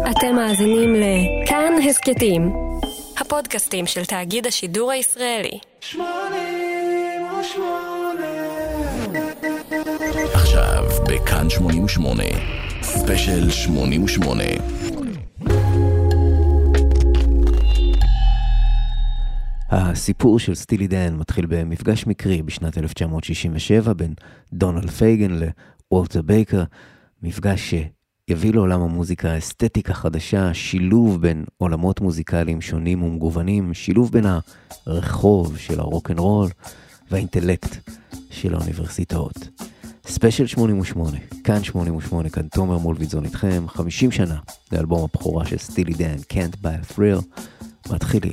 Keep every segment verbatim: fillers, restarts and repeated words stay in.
אתם מאזינים לכאן הסקטים, הפודקאסטים של תאגיד השידור הישראלי. עכשיו בכאן שמונים ושמונה, ספיישל שמונים ושמונה. הסיפור של סטילי דן מתחיל במפגש מקרי בשנת אלף תשע מאות שישים ושבע בין דונלד פייגן לוולטר בייקר, מפגש שיביא לעולם המוזיקה אסתטיקה חדשה, שילוב בין עולמות מוזיקליים שונים ומגוונים, שילוב בין הרחוב של הרוק'נ'רול והאינטלקט של האוניברסיטאות. ספיישל שמונים ושמונה, כאן שמונים ושמונה, כאן תומר מולביטזון איתכם, חמישים שנה לאלבום הבכורה של סטילי דן, Can't Buy a Thrill. מתחילים.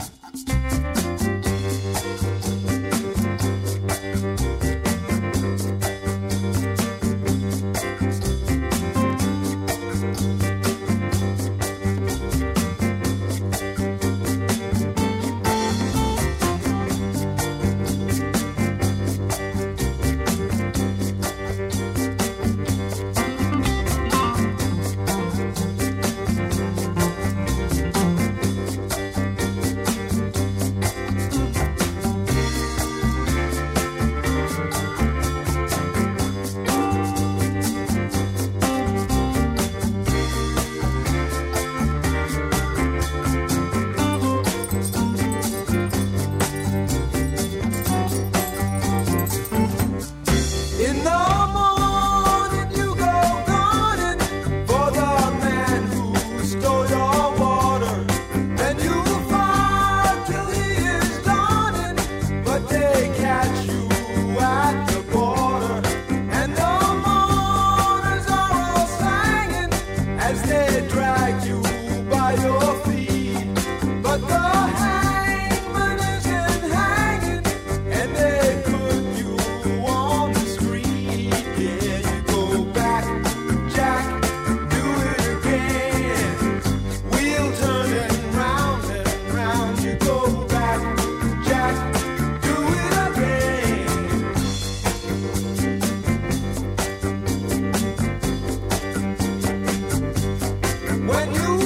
When you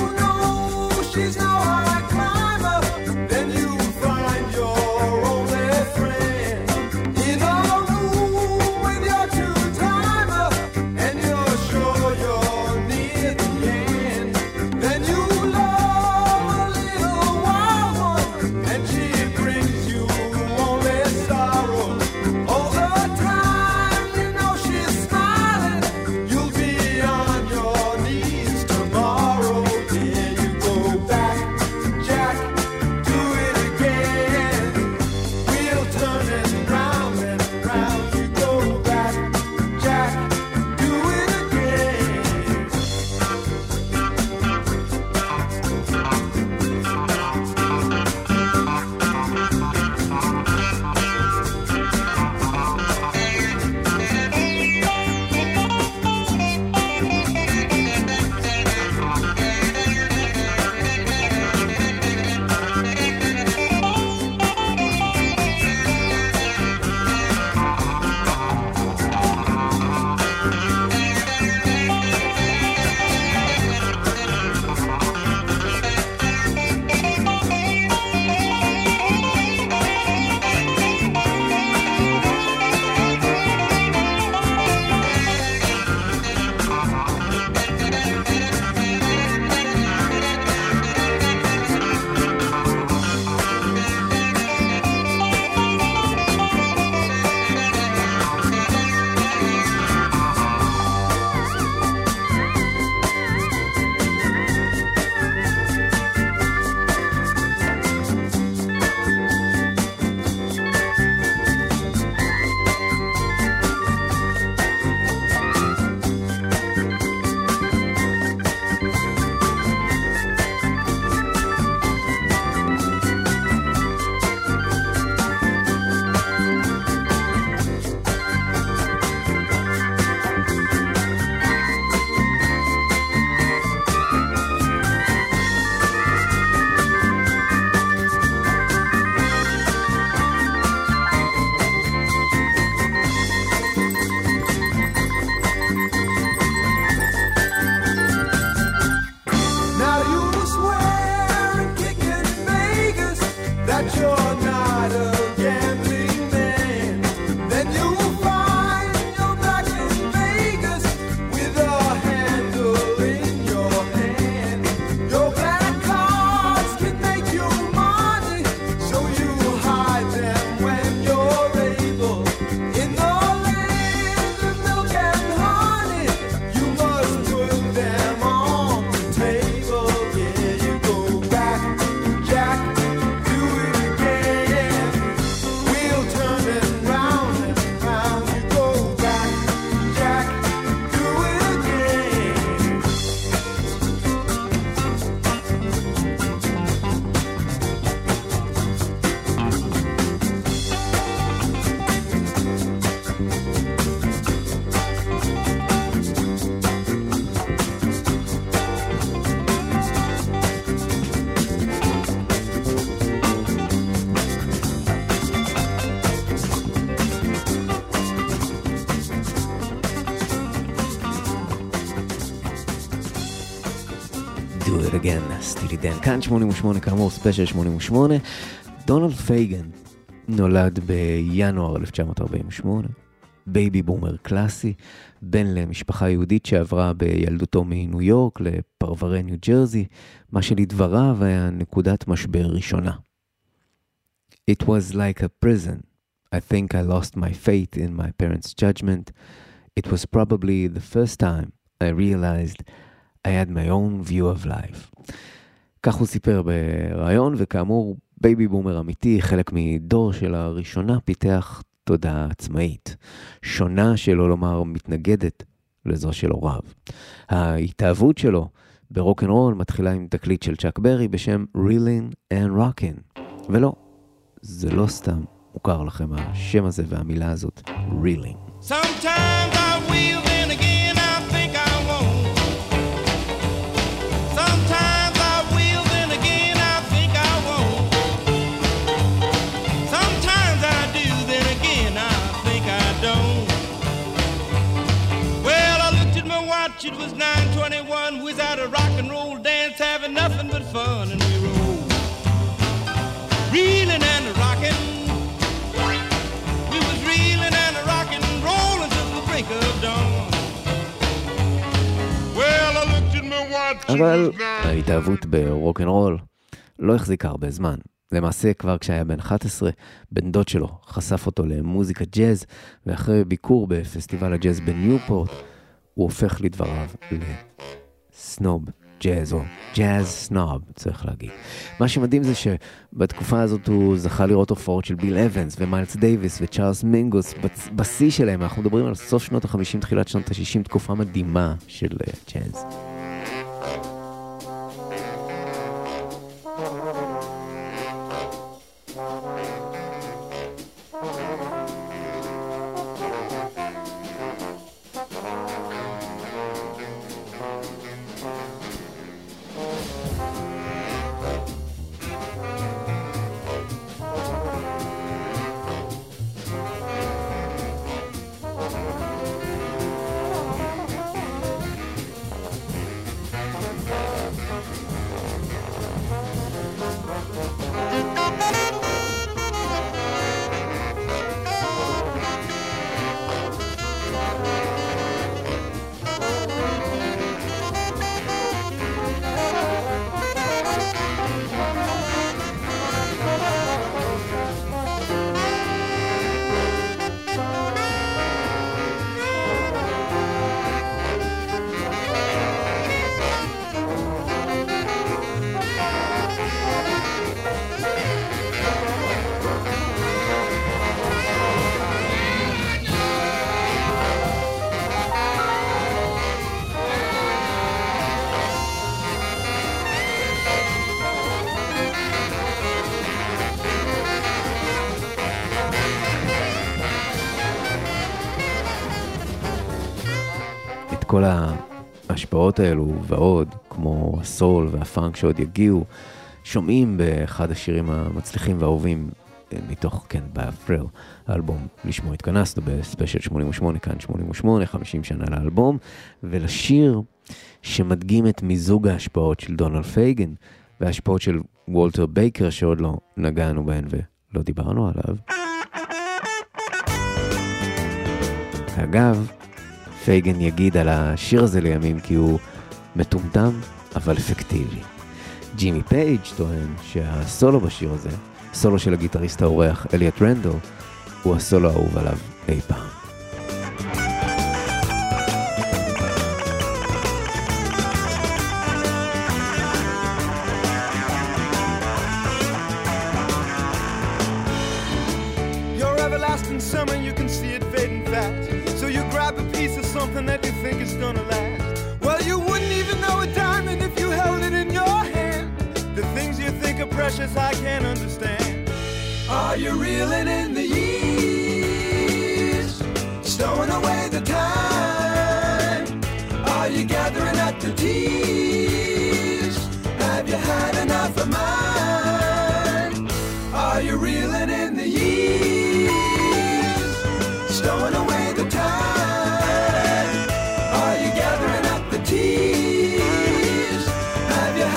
Do it again, סטילי דן. כאן שמונים ושמונה, כאמור ספיישל שמונים ושמונה. דונלד פייגן נולד בינואר אלף תשע מאות ארבעים ושמונה, בייבי בומר קלאסי, בן למשפחה יהודית שעברה בילדותו מניו יורק לפרברי ניו ג'רזי, מה שלדבריו היה נקודת משבר ראשונה. It was like a prison. I think I lost my faith in my parents' judgment. It was probably the first time I realized I had my own view of life. כך הוא סיפר ברעיון, וכאמור, בייבי בומר אמיתי, חלק מדור של הראשונה, פיתח תודעה עצמאית. שונה, שלא לומר מתנגדת לזו של הוריו. ההתאהבות שלו ברוק'נ'רול מתחילה עם תקליט של צ'אק ברי בשם Reelin' and Rockin'. ולא, זה לא סתם מוכר לכם השם הזה והמילה הזאת, Reelin'. Sometimes I will, then again I think I won't. Sometimes I will, then again I think I won't. Sometimes I do, then again I think I don't. Well, I looked at my watch, it was nine twenty-one. We was at a rock and roll dance, having nothing but fun, and we rolled, reeling and rocking. We was reeling and rocking, rolling to the brink of dawn. Well, I looked at my watch. אבל ההתאהבות ברוק'נ'רול לא החזיקה הרבה זמן. למעשה כבר כשהיה בן אחת עשרה, בן דוד שלו חשף אותו למוזיקה ג'אז, ואחרי ביקור בפסטיבל הג'אז בניופורט, הוא הופך לדבריו לסנוב ג'אז, או ג'אז סנוב, צריך להגיד. מה שמדהים זה שבתקופה הזאת הוא זכה לראות הופעות של ביל אבנס ומיילס דייביס וצ'ארלס מינגוס, בשיא שלהם. אנחנו מדברים על סוף שנות ה-חמישים, תחילת שנות ה-שישים, תקופה מדהימה של ג'אז. כל ההשפעות האלו ועוד, כמו הסול והפאנק שעוד יגיעו, שומעים באחד השירים המצליחים והאהובים מתוך כן באפריל, האלבום לשמו התכנסנו בספיישל שמונים ושמונה, כאן שמונים ושמונה, חמישים שנה לאלבום, ולשיר שמדגים את מיזוג ההשפעות של דונלד פייגן וההשפעות של וולטר בייקר שעוד לא נגענו בהן ולא דיברנו עליו. אגב, פייגן יגיד על השיר הזה לימים כי הוא מטומטם אבל אפקטיבי. ג'ימי פייג' טוען שהסולו בשיר הזה, סולו של הגיטריסט האורח אליוט רנדל, הוא הסולו האהוב עליו אי פעם. Summer, you can see it fading fast. So you grab a piece of something that you think is gonna last. Well, you wouldn't even know a diamond if you held it in your hand. The things you think are precious, I can't understand. Are you reeling in the years, stowing away the time? Are you gathering up the tears? Have you had enough of mine? Are you reeling in the years, stowing away the time? Are you gathering up the tears? Have you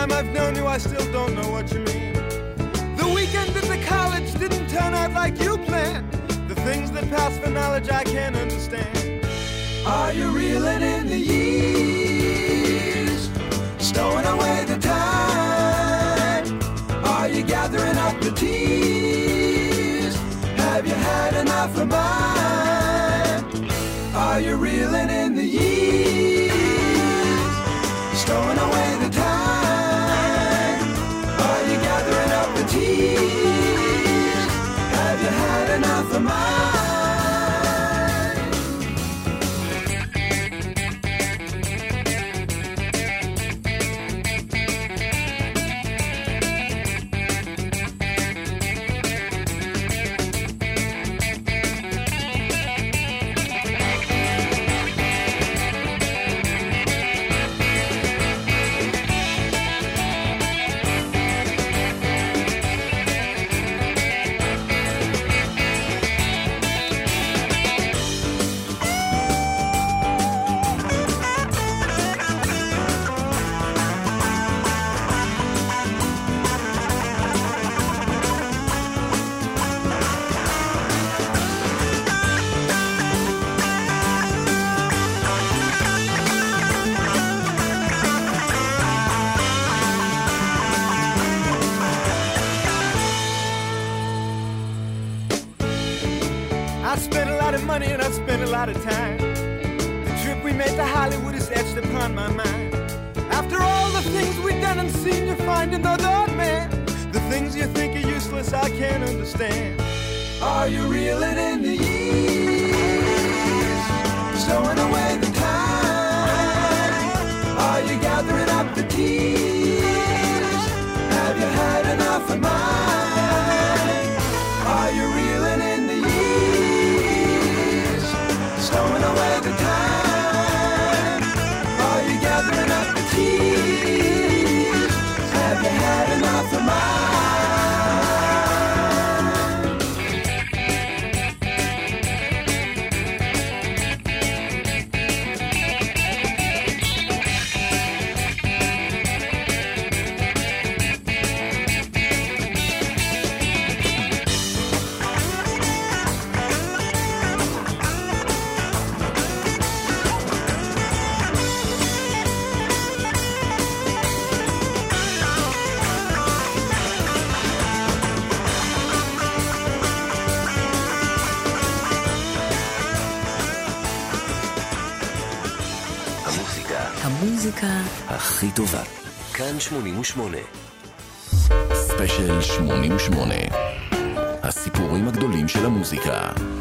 time I've known you, I still don't know what you mean. The weekend at the college didn't turn out like you planned. The things that pass for knowledge I can't understand. Are you reeling in the years, stowing away the time? Are you gathering up the tears? Have you had enough of mine? Are you reeling in the years, stowing away the time? Are you gathering up the tears? Have you had enough of mine? Money and I spent a lot of time. The trip we made to Hollywood is etched upon my mind. After all the things we've done and seen, you find another man. The things you think are useless, I can't understand. Are you reeling in the years, stowing away the time? Are you gathering up the tears? Have you had enough of mine? Are you reeling in the years, stowing away the time? Are you gathering up the tears? Have you had enough of mine? המוזיקה הכי טובה. כאן שמונים ושמונה. ספיישל שמונים ושמונה. הסיפורים הגדולים של המוזיקה.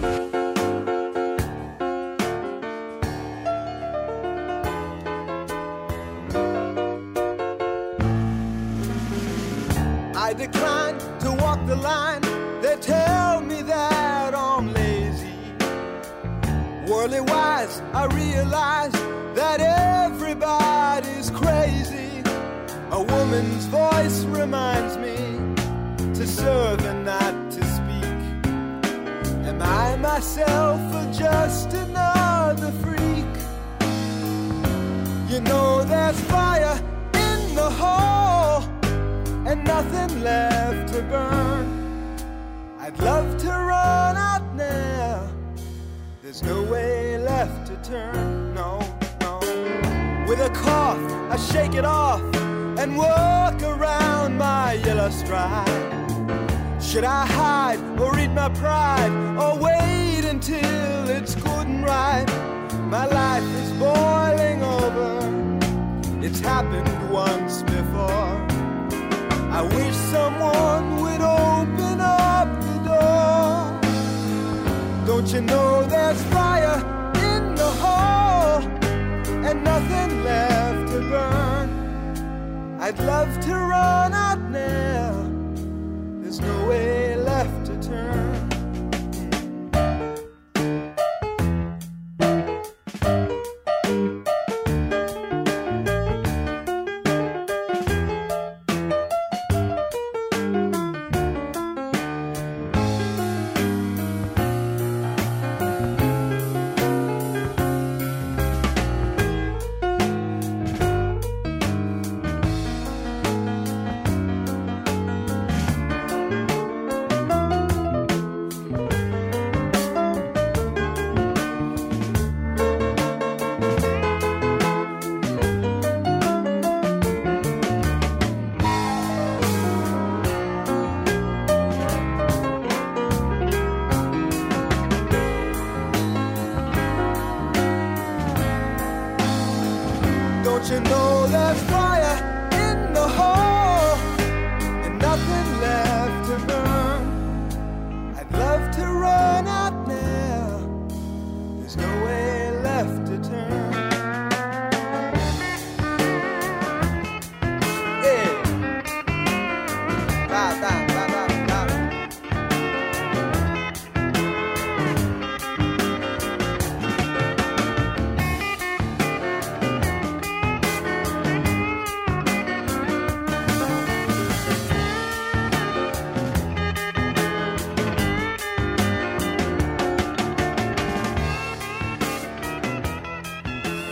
I decline to walk the line. They tell me that I'm lazy. Worldly wise, I realize that everybody's crazy. A woman's voice reminds me to serve and not to speak. Am I myself or just another freak? You know there's fire in the hole and nothing left to burn. I'd love to run out now. There's no way left to turn, no. With a cough, I shake it off and walk around my yellow stride. Should I hide or eat my pride or wait until it's good and right? My life is boiling over. It's happened once before. I wish someone would open up the door. Don't you know there's fire in the hole and nothing left to burn? I'd love to run out now. There's no way left to turn.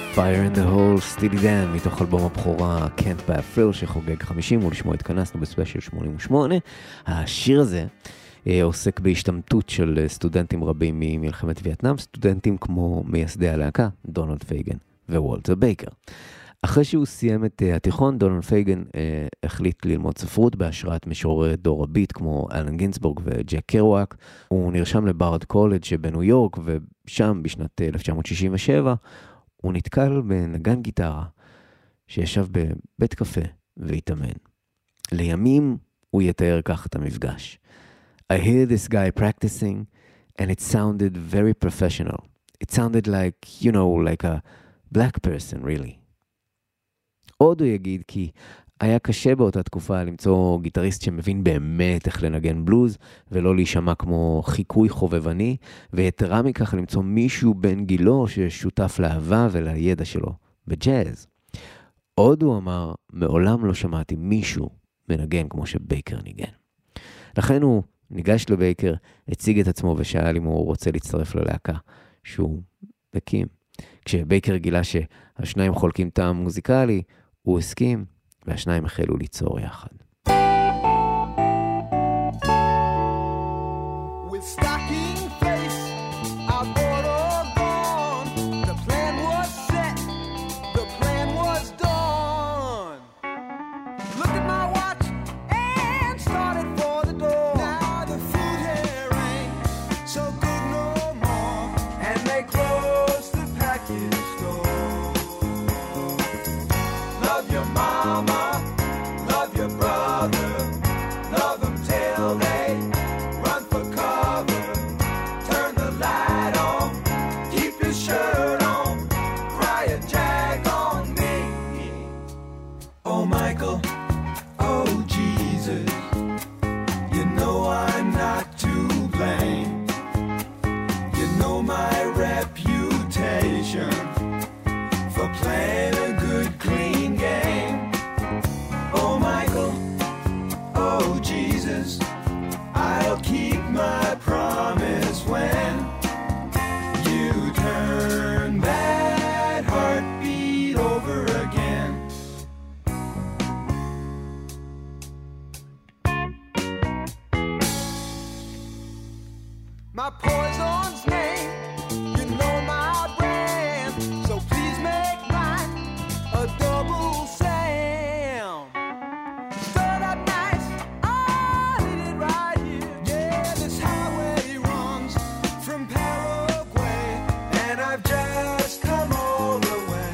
Fire in the Hole, סטילי דן, מתוך אלבום הבכורה Can't Buy a Thrill שחוגג חמישים, ולשמו התכנסנו בספיישל שמונים ושמונה. השיר הזה אה, עוסק בהשתמטות של סטודנטים רבים ממלחמת וייטנאם, סטודנטים כמו מייסדי הלהקה, דונלד פייגן ווולטר בייקר. אחרי שהוא סיים את uh, התיכון, דונלד פייגן uh, החליט ללמוד ספרות בהשראת משוררי דור הביט כמו אלן גינסבורג וג'ק קרואק. הוא נרשם לברד קולג' שבניו יורק, ושם בשנת אלף תשע מאות שישים ושבע הוא נתקל בנגן גיטרה שישב בבית קפה והתאמן. לימים הוא יתאר כך את המפגש. I hear this guy practicing and it sounded very professional. It sounded like, you know, like a black person really. עוד הוא יגיד כי היה קשה באותה תקופה למצוא גיטריסט שמבין באמת איך לנגן בלוז, ולא להישמע כמו חיקוי חובבני, ויתרה מכך למצוא מישהו בן גילו ששותף לאהבה ולידע שלו בג'אז. עוד הוא אמר, מעולם לא שמעתי מישהו מנגן כמו שבייקר ניגן. לכן הוא ניגש לבייקר, הציג את עצמו ושאל אם הוא רוצה להצטרף ללהקה שהוא הקים. כשבייקר גילה שהשניים חולקים טעם מוזיקלי, הוא הסכים, והשניים החלו ליצור יחד. With stocking face, I bought all gone. The plan was set, the plan was done. Look at my watch and started for the door. Now the food here ain't so good no more, and they closed the package store. Love your mama, love your brother, love them till they run for cover. Turn the light on, keep your shirt on, cry a jag on me. Oh Michael, oh Jesus, you know I'm not to blame. You know my reputation for playing a good clean game. Oh Michael, oh Jesus, I'll keep my promise when you turn that heartbeat over again. My poison's name, you know my brand, so please make mine a double sound. Stir up nice, I did it right here. Yeah, this highway runs from Paraguay, and I've just come all the way.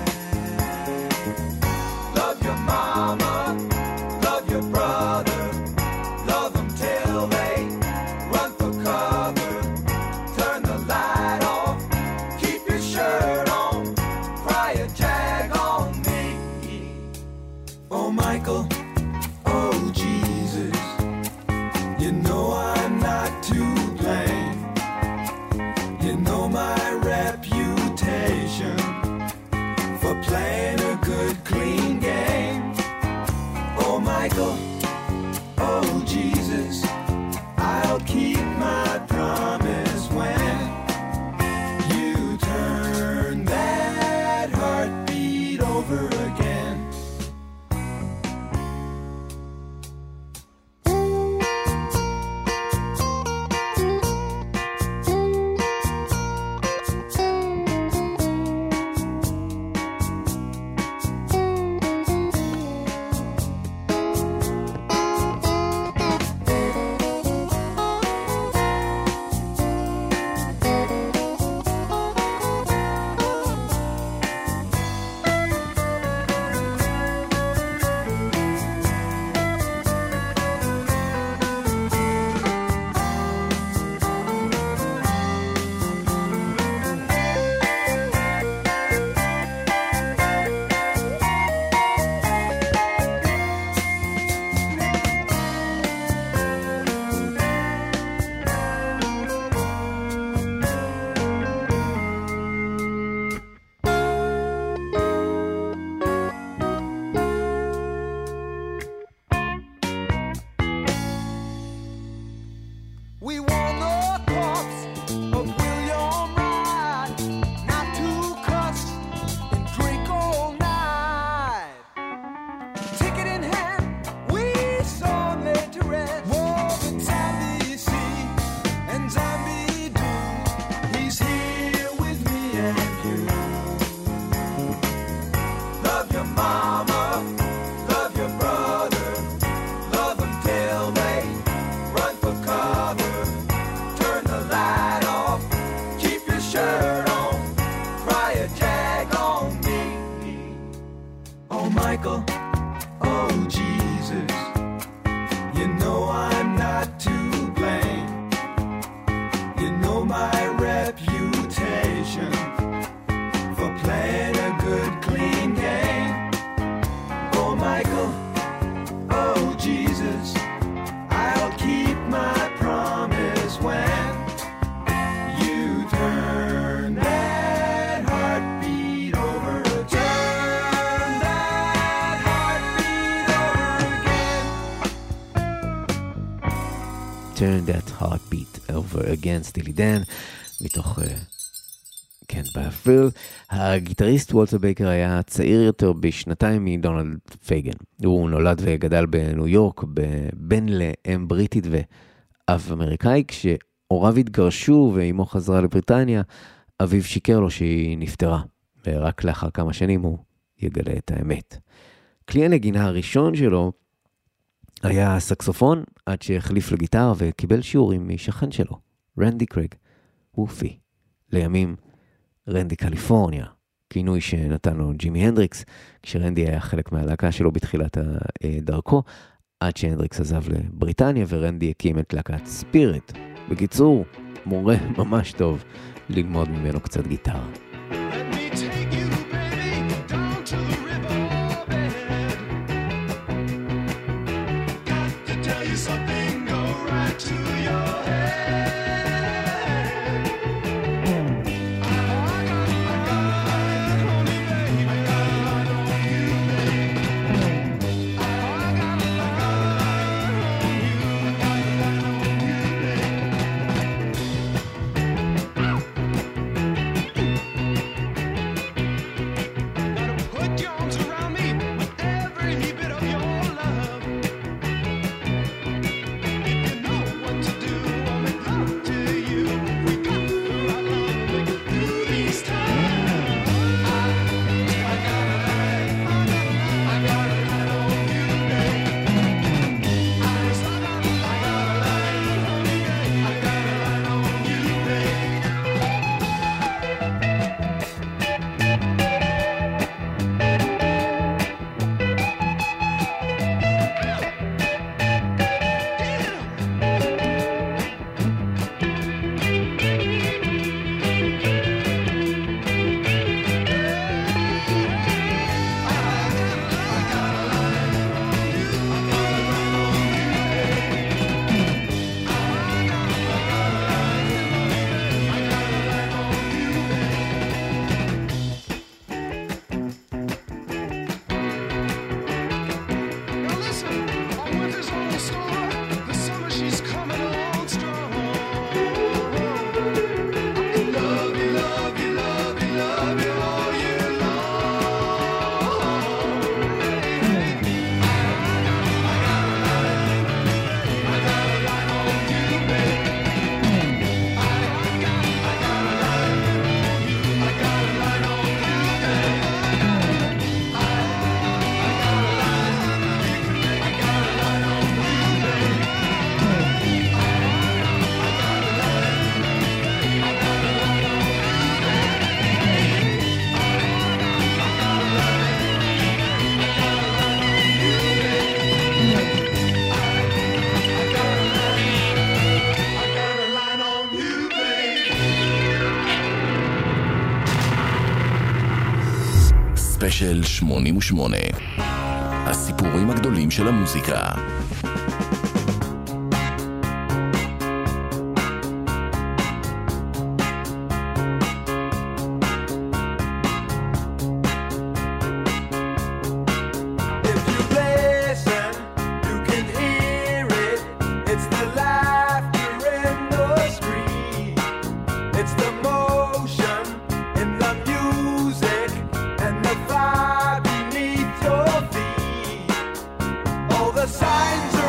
Love your mama, love your brother, love them till they run for cover. Turn the light motion for playing a good clean game. Oh Michael, oh Jesus, I'll keep my promise when you turn that heartbeat over. Turn that heartbeat over again. Turn that heartbeat over again, סטילי דן, מתוך... כן, באפריל. הגיטריסט וולטר בייקר היה צעיר יותר בשנתיים מדונלד פייגן. הוא נולד וגדל בניו יורק, בן לאם בריטית ואב אמריקאי. כשהוריו התגרשו ואימו חזרה לבריטניה, אביו שיקר לו שהיא נפטרה, ורק לאחר כמה שנים הוא יגלה את האמת. כלי הנגינה הראשון שלו היה סקסופון, עד שהחליף לגיטרה וקיבל שיעורים משכן שלו, רנדי קרייג, וופי. לימים רנדי קליפורניה, כינוי שנתן לו ג'ימי הנדריקס, כשרנדי היה חלק מהלהקה שלו בתחילת דרכו, עד שהנדריקס עזב לבריטניה ורנדי הקים את להקת ספיריט. בקיצור, מורה ממש טוב ללמוד ממנו קצת גיטרה. ספיישל שמונים ושמונה, הסיפורים הגדולים של המוזיקה. Signs are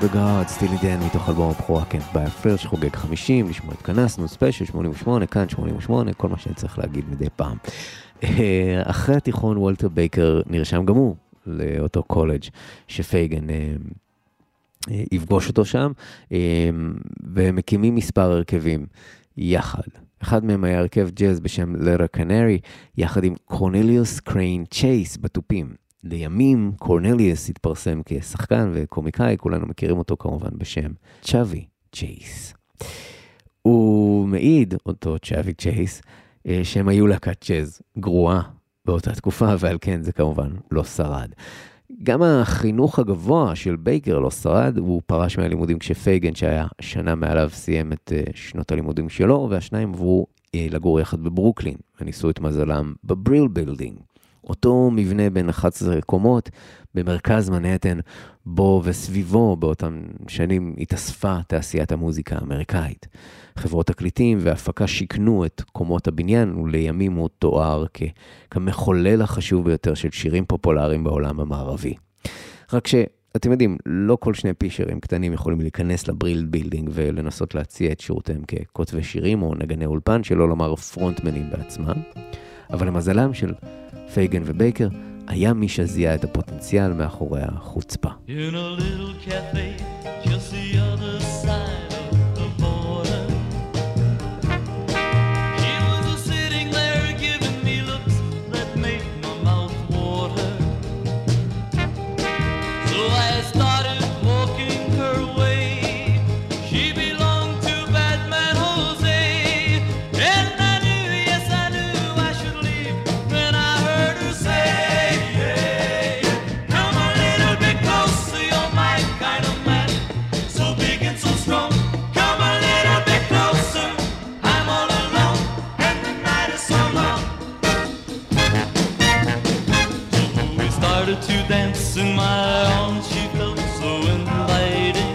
of the God, סטילי דן מתוך אלבום הבכורה Can't Buy a Thrill שחוגג חמישים, לשמוע התכנסנו, ספיישל שמונים ושמונה, כאן שמונים ושמונה, כל מה שאני צריך להגיד מדי פעם. אחרי התיכון וולטר בייקר נרשם גם הוא לאותו קולג' שפייגן יפגוש אותו שם, ומקימים מספר הרכבים יחד. אחד מהם היה הרכב ג'אז בשם לרה קנרי, יחד עם קורנליוס קריין צ'ייס בתופים. לימים קורנליוס התפרסם כשחקן וקומיקאי, כולנו מכירים אותו כמובן בשם צ'אבי צ'ייס. הוא מעיד, אותו צ'אבי צ'ייס, שהם היו להקת ג'אז גרועה באותה תקופה, ועל כן זה כמובן לא שרד. גם החינוך הגבוה של בייקר לא שרד, הוא פרש מהלימודים כשפייגן שהיה שנה מעליו סיים את שנות הלימודים שלו, והשניים עברו לגור יחד בברוקלין, וניסו את מזלם בבריל בילדינג. אותו מבנה בין אחת עשרה קומות במרכז מנהטן, בו וסביבו באותם שנים התאספה תעשיית המוזיקה האמריקאית. חברות תקליטים והפקה שיקנו את קומות הבניין, ולימים הוא תואר כ- כמחולל החשוב ביותר של שירים פופולריים בעולם המערבי. רק שאתם יודעים, לא כל שני פישרים קטנים יכולים להיכנס לבריל בילדינג ולנסות להציע את שירותיהם ככותבי שירים או נגני אולפן, שלא לומר פרונטמנים בעצמם. אבל למזלם של פייגן ובייקר, היה מי שזיהה את הפוטנציאל מאחורי החוצפה. In a little cafe, just the other side of the border. She was sitting there giving me looks that made my mouth water. So I started walking her way. She belonged to Batman Jose. And I knew, yes I knew I should leave when I heard her say, come a little bit closer, you're my kind of man, so big and so strong. Come a little bit closer, I'm all alone, and the night is so long. So we started to dance in my arms, she felt so inviting,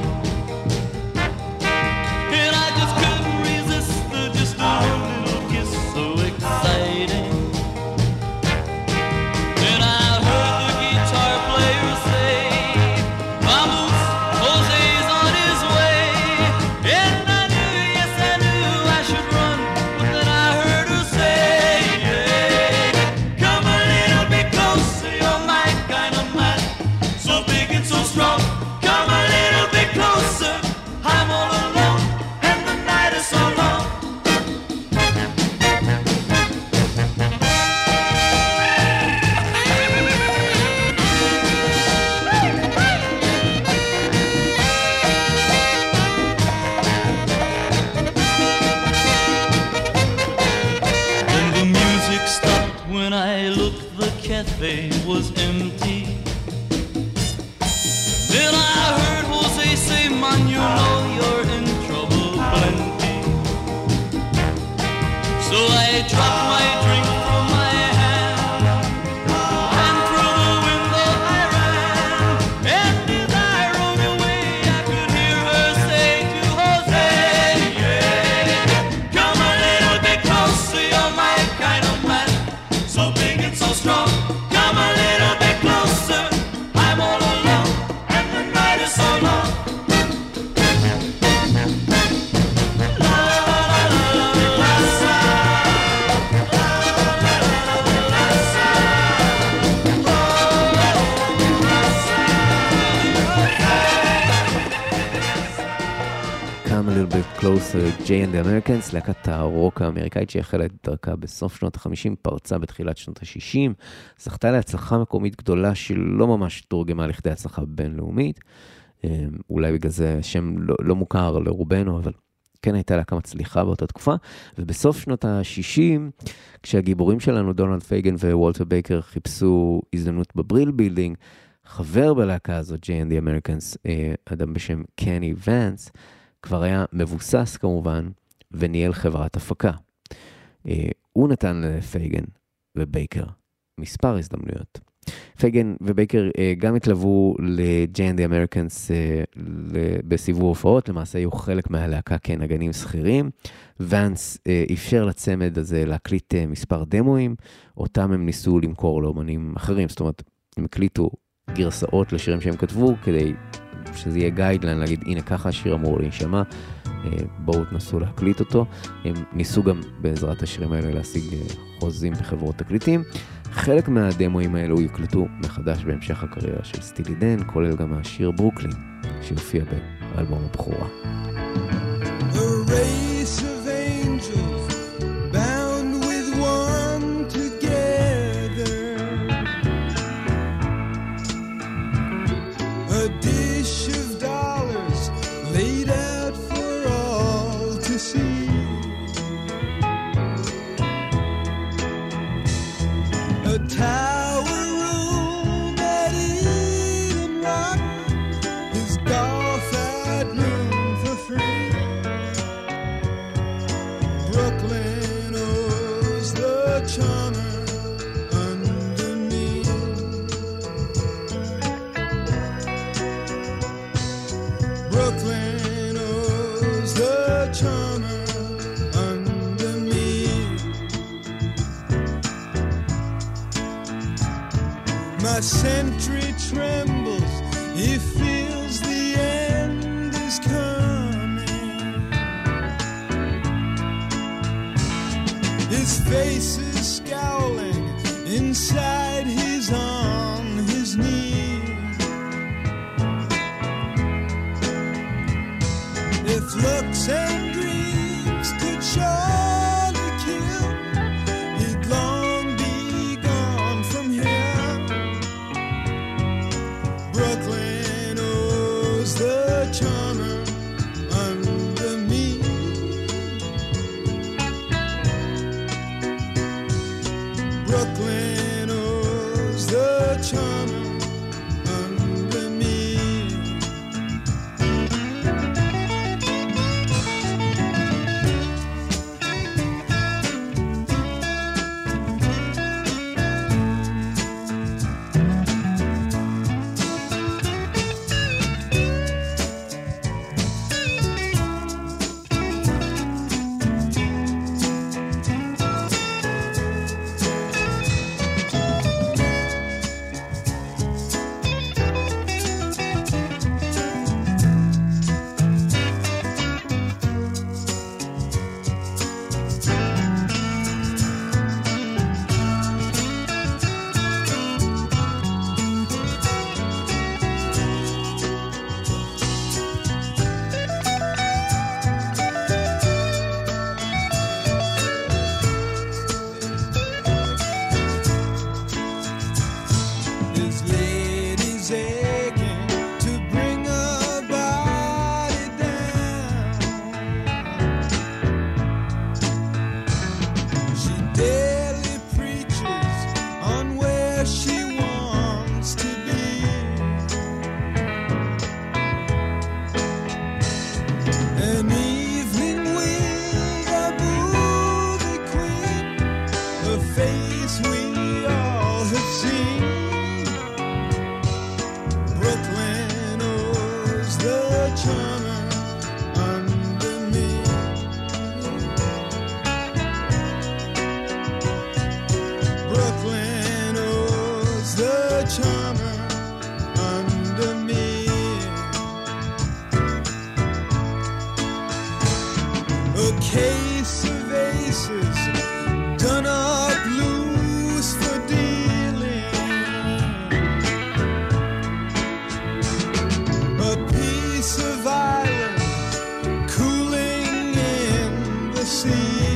and I just couldn't resist the just a little kiss, so exciting. Then I heard the guitar player say, vamos, Jose's on his way. And I knew, yes I knew I should run, but then I heard her say, come a little bit closer, you're my kind of man, so big and so strong. Come a little bit closer, I'm all alone, and the night is so long. Then the music stopped when I looked, the cafe was empty. Then I heard Jose say, man, you know you're in trouble plenty. So I dropped my drink from my hand, and through the window I ran. And as I rode away, I could hear her say to Jose, come a little bit closer, you're my kind of man, so big and so strong. Come a little bit closer, I'm all alone, and the night is so long. La la la la la la. Come a little bit closer, Jay and the Americans, להקת הרוק האמריקאית שהחלה את דרכה בסוף שנות ה-חמישים, פרצה בתחילת שנות ה-שישים, זכתה להצלחה מקומית גדולה שלא ממש תורגמה לכדי הצלחה בינלאומית, אולי בגלל זה שם לא, לא מוכר לרובנו, אבל כן הייתה להקה מצליחה באותה תקופה, ובסוף שנות ה-שישים, כשהגיבורים שלנו, דונלד פייגן ווולטר בייקר, חיפשו הזדמנות בבריל בילדינג, חבר בלהקה הזאת, Jay and the Americans, אדם בשם קני ונס, כבר היה מבוסס כמובן, וניהל חברת הפקה. הוא נתן לפייגן ובייקר מספר הזדמנויות. פייגן ובייקר גם התלוו ל-Jay and the Americans בסיבוב הופעות, למעשה היו חלק מהלהקה כנגנים שכירים. ונס אפשר לצמד הזה להקליט מספר דמוים, אותם הם ניסו למכור לאומנים אחרים, זאת אומרת, הם הקליטו גרסאות לשירים שהם כתבו, כדי שזה יהיה גיידליין, להגיד, הנה ככה השיר אמור להישמע, בואו תנסו להקליט אותו. הם ניסו גם בעזרת השירים האלה להשיג חוזים בחברות תקליטים. חלק מהדמוים האלו יוקלטו מחדש בהמשך הקריירה של סטילי דן, כולל גם השיר ברוקלין, שיופיע באלבום הבכורה. A race of angels bound with one together, a dish of dollars laid out for all to see, a tower room at Eden Rock, his golf had room for free. Brooklyn owes the charmer under me. Brooklyn owes the charmer under me. My sentry trembles, he feels the end is coming. His face is scowling, inside he's on his knees. If looks and dreams could surely kill, he'd long be gone from here. Brooklyn owes the charmer under me. Brooklyn owes the charmer under me. His lady's aching to bring her body down. She daily preaches on where she wants to be. An evening with a movie queen, her face we all have seen. Brooklyn owes the charmer under me. Brooklyn owes the charmer under me. A case of aces done up loose for dealing, a piece of island cooling in the sea.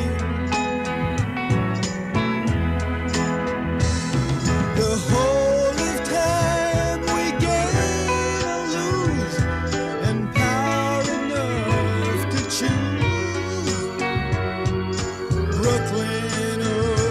The whole of time we gain or lose, and power enough to choose. Brooklyn owes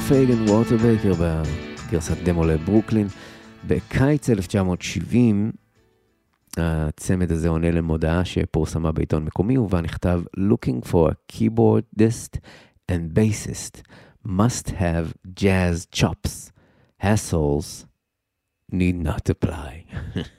פייגן, וולטר בייקר בגרסת דמו לברוקלין. בקיץ אלף תשע מאות שבעים הצמד הזה עונה למודעה שפורסמה בעיתון מקומי, ובה נכתב Looking for a keyboardist and bassist must have jazz chops. Hassles need not apply.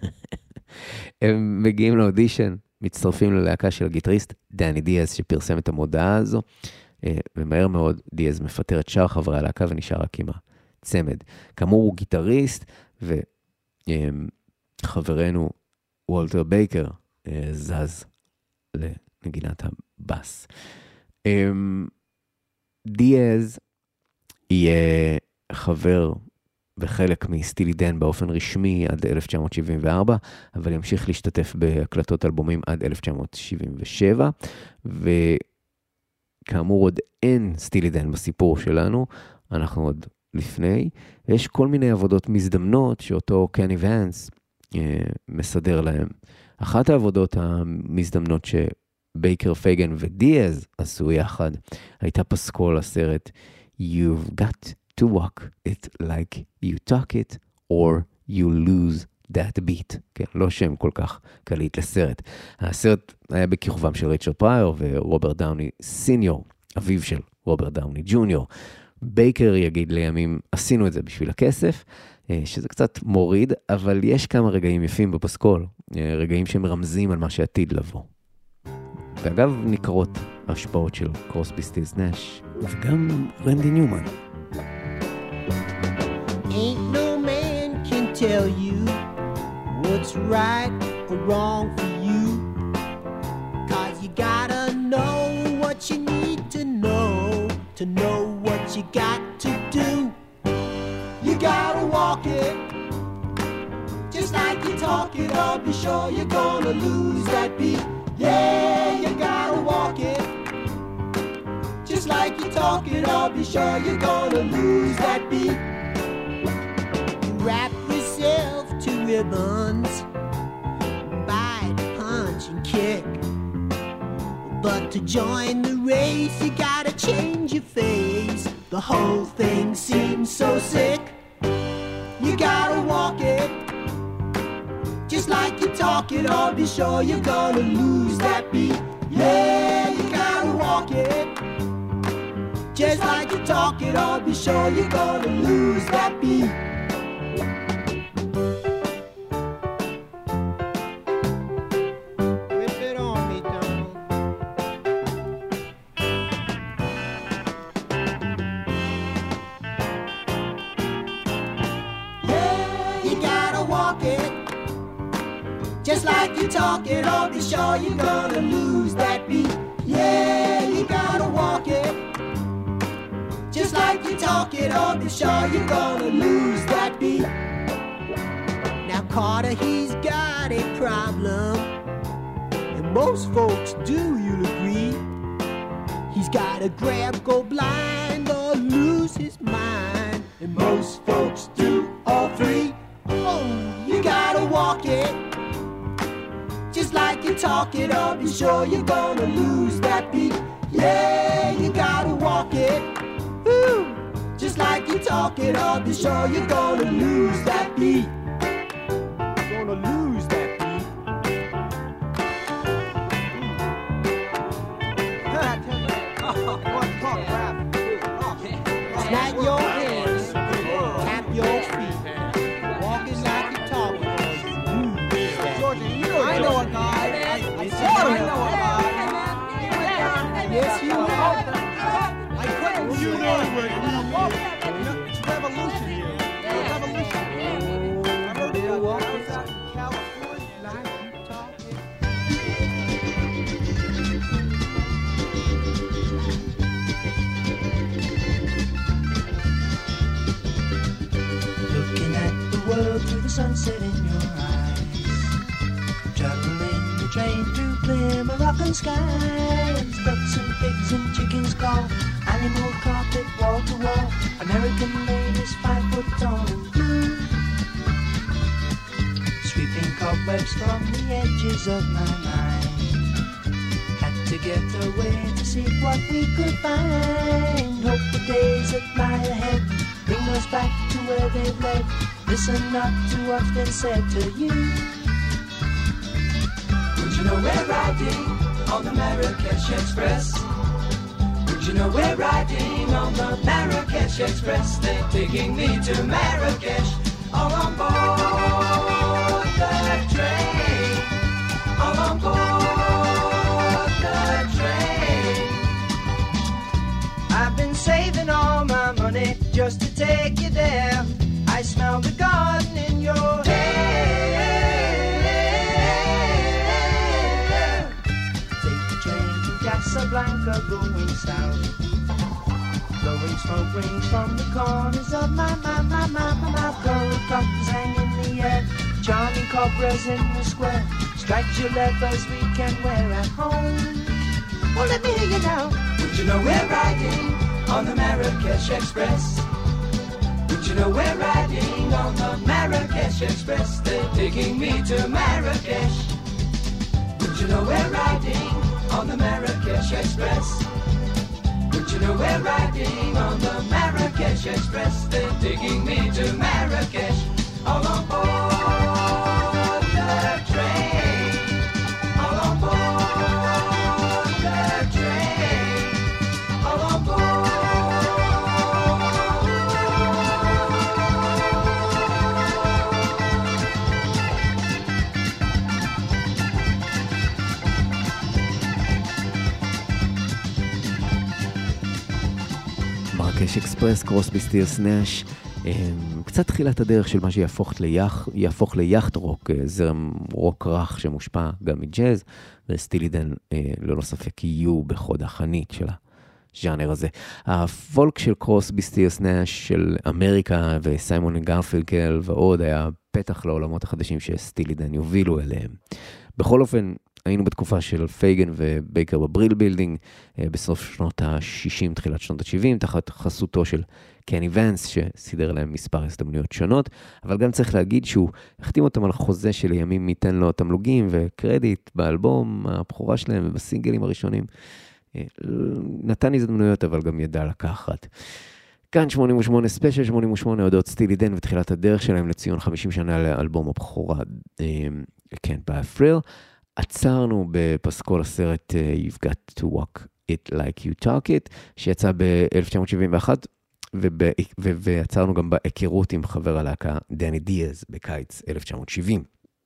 הם מגיעים לאודישן, מצטרפים ללהקה של הגיטריסט דני דיאז שפרסם את המודעה הזו, ומהר מאוד דיאז מפטר את שאר חברי הלהקה ונשאר רק עם הצמד. כאמור הוא גיטריסט, וחברנו וולטר בייקר זז לנגינת הבאס. דיאז יהיה חבר וחלק מסטילי דן באופן רשמי עד אלף תשע מאות שבעים וארבע, אבל ימשיך להשתתף בהקלטות אלבומים עד אלף תשע מאות שבעים ושבע, וכאמור עוד אין סטילי דן בסיפור שלנו, אנחנו עוד לפני. יש כל מיני עבודות מזדמנות שאותו קני ונס אה, מסדר להם. אחת העבודות המזדמנות שבייקר, פייגן ודיאז עשו יחד, הייתה פסקול הסרט You've got to walk it like you talk it or you lose that beat. כן, לא שם כל כך קליט לסרט. הסרט היה בכיכובם של ריצ'רד פרייר ורוברט דאוני סיניור, אביו של רוברט דאוני ג'וניור. בייקר יגיד לימים, עשינו את זה בשביל הכסף, שזה קצת מוריד, אבל יש כמה רגעים יפים בפסקול, רגעים שמרמזים על מה שעתיד לבוא. ואגב, ניכרות ההשפעות של קרוסבי, סטילס, נש, וגם רנדי ניומן. Ain't no man can tell you what's right or wrong for you, 'cause you gotta know what you need to know to know what you got to do. You gotta walk it just like you talk it, or be sure you're gonna lose that beat. Yeah, you gotta walk it just like you talk it, or be sure you're gonna lose that beat. You wrap yourself to ribbons, bite, punch and kick, but to join the race you gotta change your face. The whole thing seems so sick. You gotta walk it just like you talk it, or be sure you're gonna lose that beat. Yeah, you gotta walk it just like you talk it, or be sure you're gonna lose that beat. Rip it on me, Donald. Yeah, you gotta walk it just like you talk it, or be sure you're gonna lose that beat. Yeah, you gotta walk it just like you talk it, or be sure you're gonna lose that beat. Now Carter, he's got a problem, and most folks do, you'll agree. He's gotta grab, go blind, or lose his mind, and most folks do all three. Oh, you gotta walk it just like you talk it, or be sure you're gonna lose that beat. Yeah, you gotta walk it just like you talk it, or be sure you're gonna lose that beat. Gonna lose that beat. Snap your hands, tap your feet, walking like you talking. I know a guy. I, I saw him. I know a guy. Yes, you know. I couldn't. You know where you are. It's revolution here. It's revolution. I heard it was out in California. Like you talking. Looking at the world through the sunset in your eyes, juggling the train through clear Moroccan skies, ducks and pigs and chickens call, animal carpet wall to wall, American ladies five foot tall and blue, sweeping cobwebs from the edges of my mind. Had to get away to seek what we could find. Hope the days that lie ahead bring us back to where they've led. Listen not to what's been said to you. Would you know we're riding on the Marrakesh Express? Would you know we're riding on the Marrakesh Express? They're taking me to Marrakesh, all on board the train, all on board the train. I've been saving all my money just to take you there. I smell the garden in your hair. Take the train to Casablanca going south. Blowing smoke rings from the corners of my, my, my, my, my mouth. Gold buttons hang in the air. Charming cobras in the square. Striped levers we can wear at home. Well, let me hear you now. Would you know we're riding on the Marrakesh Express? Would you know we're riding on the Marrakesh Express? They're taking me to Marrakesh. Would you know we're riding on the Marrakesh Express? Would you know we're riding on the Marrakesh Express? They're taking me to Marrakesh, all on board the train, all on board the train, all on board. מרקש אקספרס, קרוסבי סטילס נש, קצת תחילת הדרך של מה שיהפוך ליח, יהפוך ליחט רוק, זרם רוק רך שמושפע גם מג'אז, וסטילי דן ללא ספק יהיו בחוד החנית של הז'אנר הזה. הפולק של קרוסבי סטילס נש של אמריקה וסיימון גרפינקל ועוד היה פתח לעולמות החדשים שסטילי דן יובילו אליהם. בכל אופן, היינו בתקופה של פייגן ובייקר בבריל בילדינג, בסוף שנות ה-שישים, תחילת שנות ה-שבעים, תחת חסותו של קני ונס, שסידר להם מספר הזדמנויות שונות, אבל גם צריך להגיד שהוא החתים אותם על חוזה שלימים ייתן לו תמלוגים וקרדיט באלבום הבכורה שלהם ובסינגלים הראשונים. נתן הזדמנויות, אבל גם ידע לקחת. כאן שמונים ושמונה ספיישל, שמונים ושמונה הודות סטילי דן ותחילת הדרך שלהם לציון חמישים שנה לאלבום הבכורה, כן, ב-Thrill. עצרנו בפסקול הסרט You've Got to Walk It Like You Talk It, שיצא ב-אלף תשע מאות שבעים ואחת, ועצרנו גם בהיכרות עם חבר הלהקה דני דיאז בקיץ אלף תשע מאות שבעים.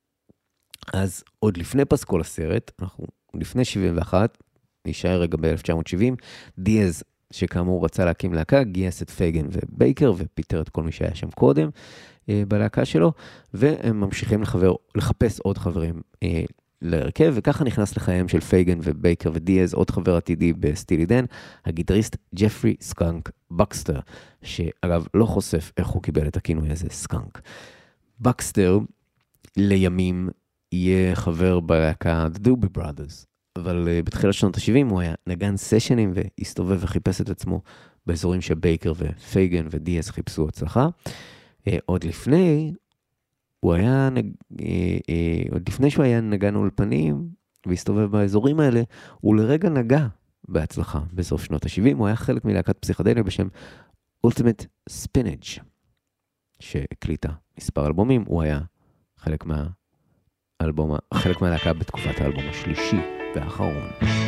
אז עוד לפני פסקול הסרט, אנחנו לפני שבעים ואחת, נשאר רגע ב-אלף תשע מאות שבעים, דיאז, שכאמור רצה להקים להקה, גייס את פייגן ובייקר, ופיטר את כל מי שהיה שם קודם בלהקה שלו, והם ממשיכים לחבר, לחפש עוד חברים להרכב, וככה נכנס לחייהם של פייגן ובייקר ודיאז, עוד חבר עתידי בסטילי דן, הגיטריסט ג'פרי סקאנק בקסטר, שאגב לא חושף איך הוא קיבל את הכינוי הזה, סקאנק. בקסטר לימים יהיה חבר בלהקה The Doobie Brothers, אבל uh, בתחילת שנות ה-שבעים הוא היה נגן סשנים והסתובב וחיפש את עצמו באזורים שבייקר ופייגן ודיאז חיפשו הצלחה. Uh, עוד לפני, הוא היה, נג... uh, uh, עוד לפני שהוא היה נגן אולפנים והסתובב באזורים האלה, הוא לרגע נגע בהצלחה בסוף שנות ה-שבעים, הוא היה חלק מלהקת פסיכדליה בשם Ultimate Spinach, שהקליטה מספר אלבומים, הוא היה חלק מה... אלבום, חלק מהלהקה בתקופת האלבום השלישי והאחרון.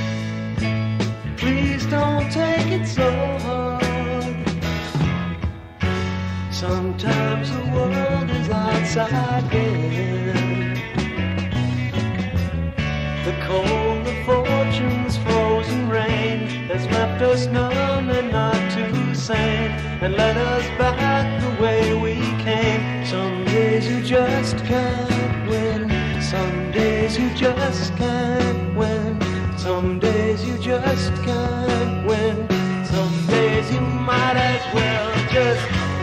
Please don't take it so hard. Sometimes the world is outside here. The cold of fortune's frozen rain has left us numb and not too sane, and led us back the way we came. Some days you just can't win. Some days you just can't win. Some days you just can't win. Some days you might as well just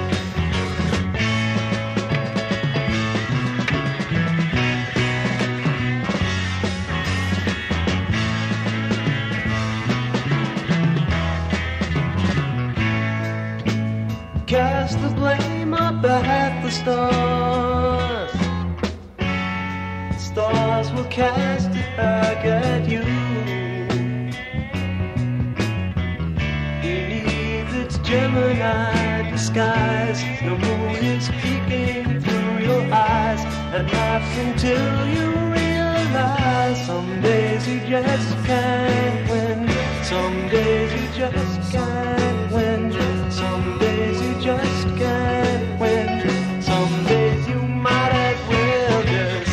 cast the blame up at the stars. Stars will cast it back at you. Gemini disguise. The moon is peeking through your eyes and laughs until you realize some days you just can't win. Some days you just can't win. Some days you just can't win. Some days you might as well just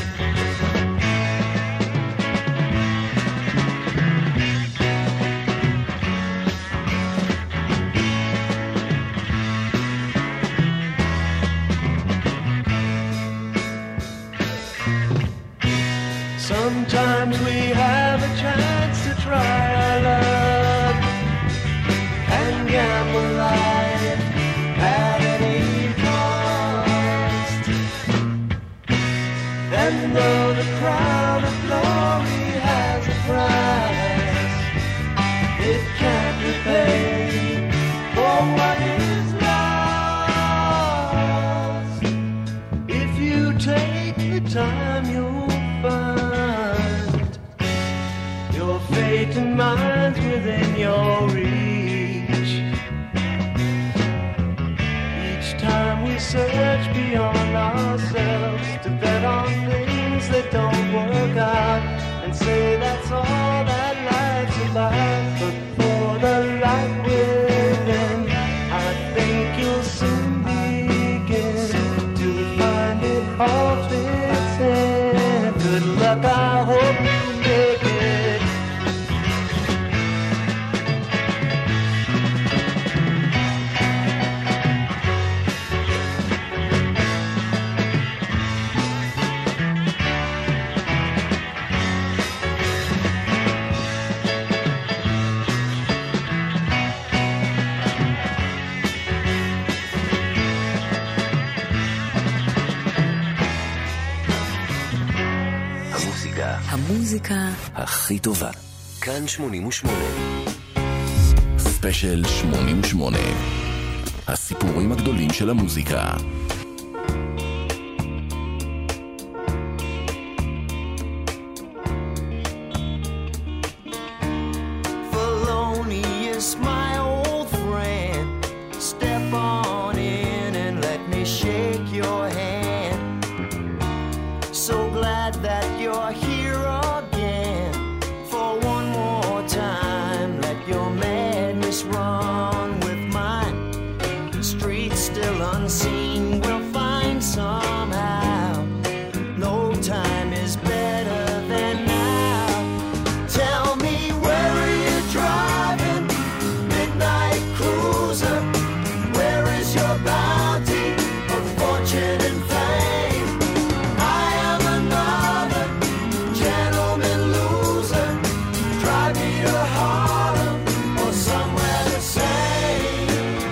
sometimes we have a chance to try our luck and gamble life at any cost. And though the crown of glory has a price, it can't repay for what is lost. If you take the time, you'll find your fate and mine's within your reach. Each time we search beyond ourselves to bet on things that don't work out and say that's all that life's about. But for the life within, I think you'll soon begin to find it all fits in. Good luck, I hope you make it. המוזיקה הכי טובה. כאן שמונים ושמונה. ספיישל שמונים ושמונה. הסיפורים הגדולים של המוזיקה. Thelonious, my old friend, step on in and let me shake your hand. So glad that you're here again. For one more time, let your madness run with mine. Streets still unseen, we'll find somehow. No time is better than now. Tell me, where are you driving? Midnight cruiser. Where is your bounty of fortune and fame? I am another gentleman loser. Drive me to Harlem or somewhere the same.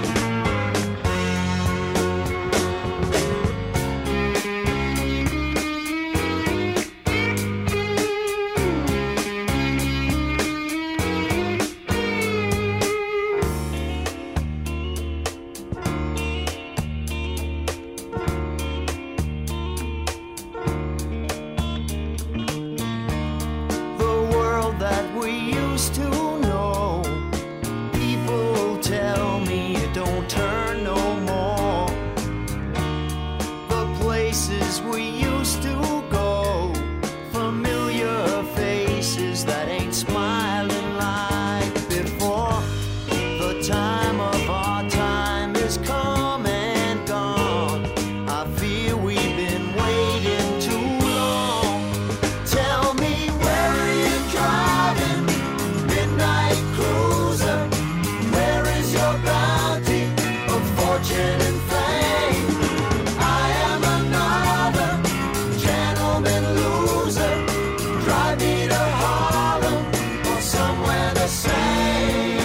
The world that we used to know, people tell me it don't turn no more. The places we used to go, familiar faces that ain't smiling like before. The time of our time is come and gone. I fear we've been waiting too long. Tell me, where are you driving? Midnight cruiser. Where is your bounty of fortune and fame? I am another gentleman loser. Drive me to Harlem or somewhere the same.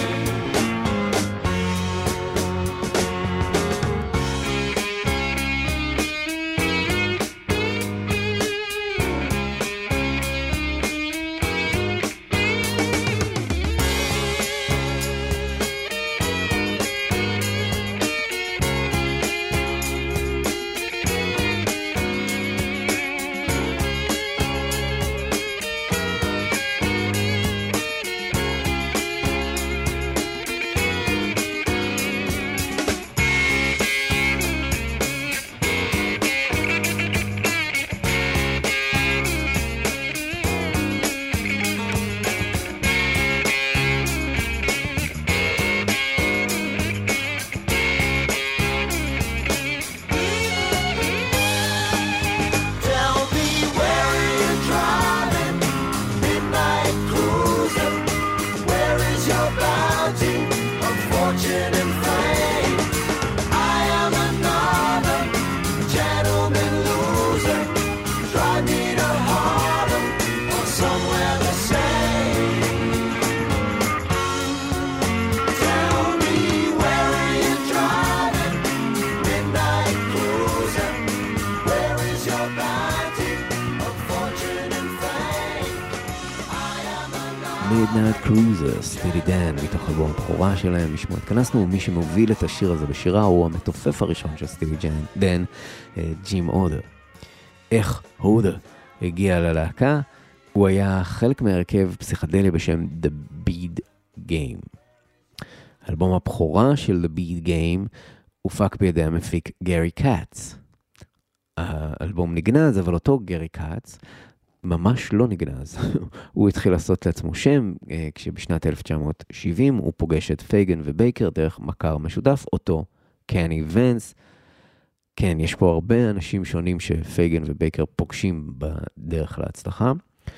somewhere the same. Tell me, where are you driving? Midnight cruiser. Where is your bounty of fortune and fame? I am a Midnight Cruiser, סטילי דן, מתוך אלבום הבכורה שלהם. לשמוע התכנסנו, מי שמוביל את השיר הזה בשירה הוא המתופף הראשון של סטילי דן, ג'ים הודר. איך הודר הגיע ללהקה? הוא היה חלק מהרכב פסיכדלי בשם The Bead Game. אלבום הבכורה של The Bead Game הופק בידי המפיק גרי קאץ. האלבום נגנז, אבל אותו גרי קאץ ממש לא נגנז. הוא התחיל לעשות לעצמו שם, כשבשנת אלף תשע מאות שבעים הוא פוגש את פייגן ובייקר דרך מכר משותף, אותו קני ונס. כן, יש פה הרבה אנשים שונים שפייגן ובייקר פוגשים בדרך להצלחה.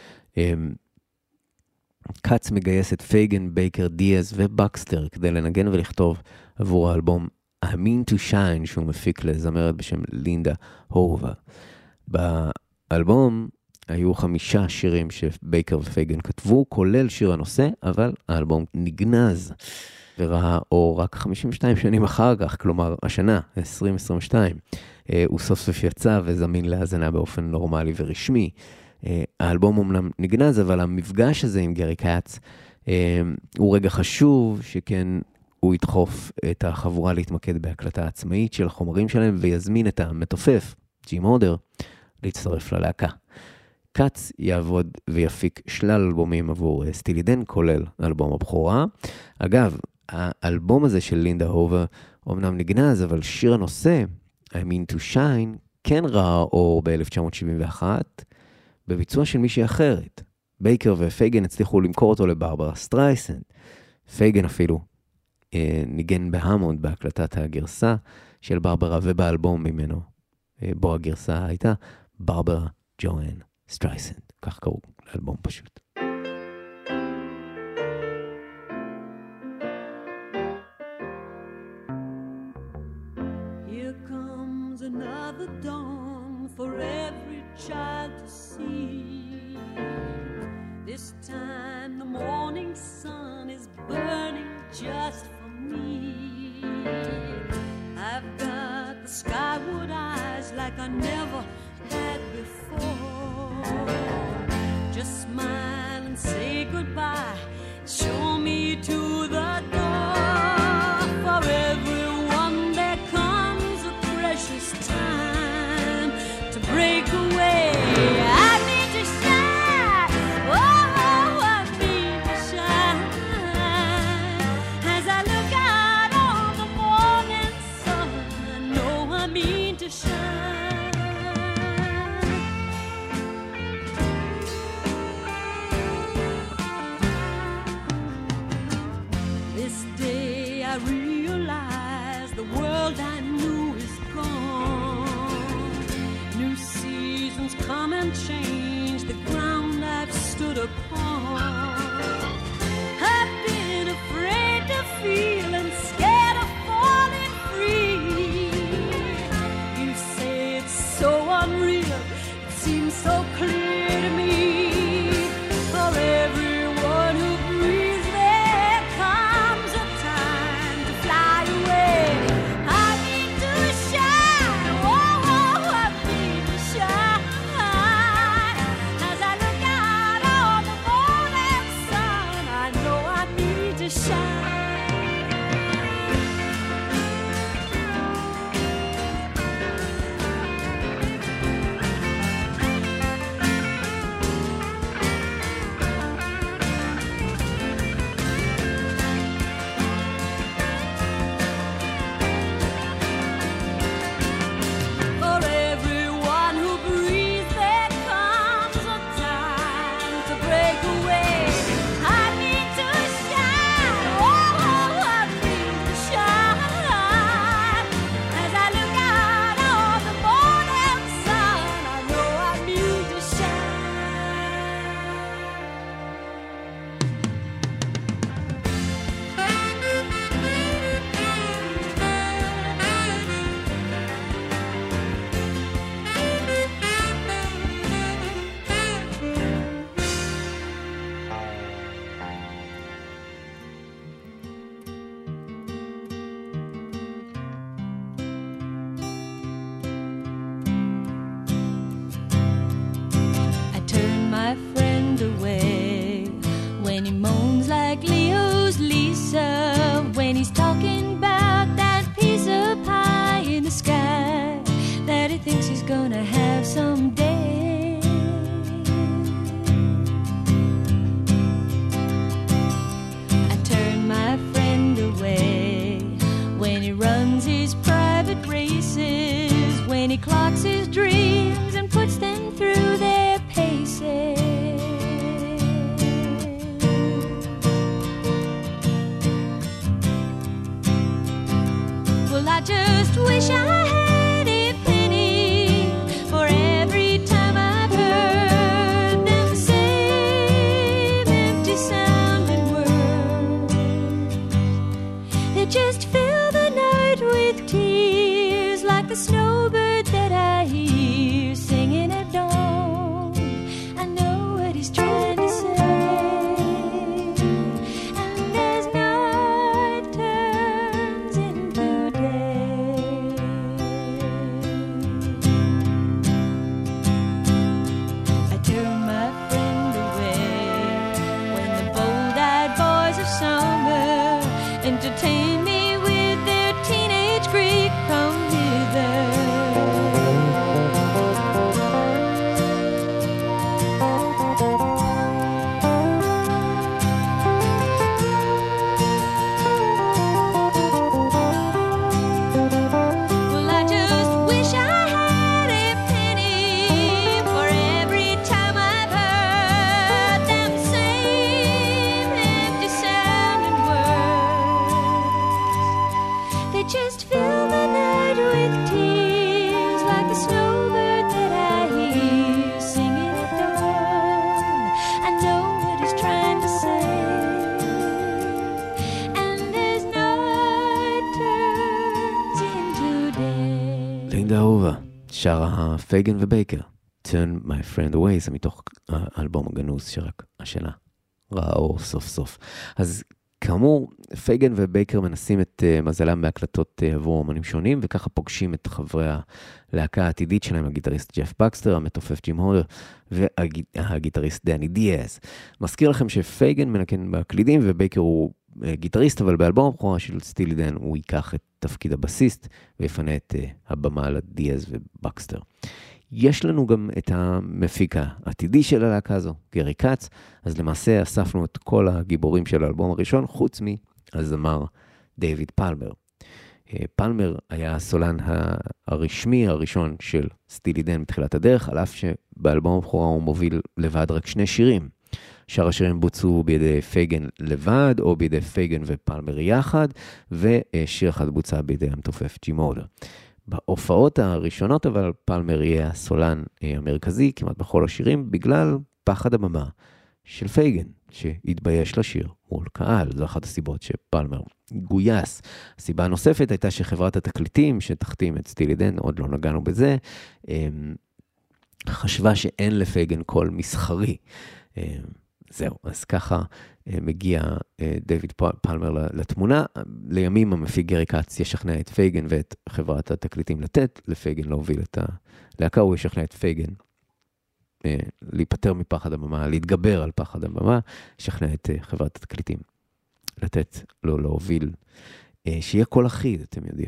קאץ מגייס את פייגן, בייקר, דיאז ובקסטר כדי לנגן ולכתוב עבור האלבום I Mean to Shine, שהוא מפיק לזמרת בשם לינדה הובה. באלבום היו חמישה שירים שבייקר ופייגן כתבו, כולל שיר הנושא, אבל האלבום נגנז וראה אור רק חמישים ושתיים שנים אחר כך, כלומר השנה, עשרים עשרים ושתיים. הוא סוף סוף יצא וזמין להאזנה באופן נורמלי ורשמי. האלבום אומנם נגנז, אבל המפגש הזה עם גרי קאץ הוא רגע חשוב, שכן הוא ידחוף את החבורה להתמקד בהקלטה עצמאית של החומרים שלהם, ויזמין את המתופף, ג'ים הודר, להצטרף ללהקה. קאץ יעבוד ויפיק שלל אלבומים עבור סטילי דן, כולל אלבום הבכורה. אגב, האלבום הזה של לינדה הובה אומנם נגנז, אבל שיר הנושא, I Mean to Shine, כן ראה אור ב-אלף תשע מאות שבעים ואחת, בביצוע של מישהי אחרת. בייקר ופייגן הצליחו למכור אותו לברברה סטרייסנד. פייגן אפילו אה, ניגן בהמונד בהקלטת הגרסה של ברברה, ובאלבום ממנו, אה, בו הגרסה הייתה ברברה ג'ואן סטרייסנד. כך קראו לאלבום פשוט. Here comes another dawn for every child to see. This time the morning sun is burning just for me. I've got the skyward eyes like I never had before. Just smile and say goodbye. Show me to the door. For everyone there comes a precious time to break away. I need to shine. Oh, I need to shine. As I look out on the morning sun, I know I mean to shine. my friend away when he moans like Leo's Lisa, when he's talking about that piece of pie in the sky that he thinks he's gonna have someday. I turn my friend away when he runs his private races, when he clocks his dreams and puts them through their paces. Well, I just wish I had a penny for every time I've heard them same empty sounding words. They just fill the night with tears like the snowbird that I hear singing at dawn. I know what he's trying to say, and as night turns into day, I turn my friend away when the bold-eyed boys of summer entertain me with their teenage Greek come hither. Well, I just wish I had a penny for every time I've heard them same empty sounding words. They just fill the night with tears like the snowbird that I hear singing at dawn. I know what he's trying to say, and as night turns into day. לינדה אהובה, שרה פייגן ובייקר, Turn My Friend Away, זה מתוך האלבום הגנוז שרק השנה ראה אור סוף סוף. אז כאמור, פייגן ובייקר מנסים את uh, מזלם בהקלטות uh, עבור אומנים שונים, וככה פוגשים את חברי הלהקה העתידית שלהם, הגיטריסט ג'ף בקסטר, המתופף ג'ים הולר, והגיטריסט דני דיאז. מזכיר לכם שפייגן מנקן בקלידים, ובייקר הוא uh, גיטריסט, אבל באלבום הבכורה של סטילי דן הוא ייקח את תפקיד הבסיסט, ויפנה את uh, הבמה לדיאז ובקסטר. יש לנו גם את המפיק העתידי של הלהקה הזו, גרי קאץ, אז למעשה אספנו את כל הגיבורים של האלבום הראשון, חוץ מהזמר דיוויד פלמר. פלמר היה הסולן הרשמי הראשון של סטילי דן מתחילת הדרך, על אף שבאלבום הבכורה הוא מוביל לבד רק שני שירים. שאר השירים בוצעו בידי פייגן לבד, או בידי פייגן ופלמר יחד, ושיר אחד בוצע בידי המתופף ג'ים הולר. בהופעות הראשונות, אבל פלמר יהיה הסולן המרכזי כמעט בכל השירים, בגלל פחד הבמה של פייגן, שהתבייש לשיר מול קהל. זו אחת הסיבות שפלמר גויס. הסיבה הנוספת הייתה שחברת התקליטים שתחתים את סטילי דן, עוד לא נגענו בזה, חשבה שאין לפייגן קול מסחרי. זהו, אז ככה מגיע דיוויד פלמר לתמונה. לימים המפיק גרי קאץ ישכנע את פייגן ואת חברת התקליטים לתת לפייגן להוביל את הלהקה, הוא ישכנע את פייגן להיפטר מפחד הבמה, להתגבר על פחד הבמה, ישכנע את חברת התקליטים לתת לו להוביל, שיהיה קול אחיד, אתם יודעים.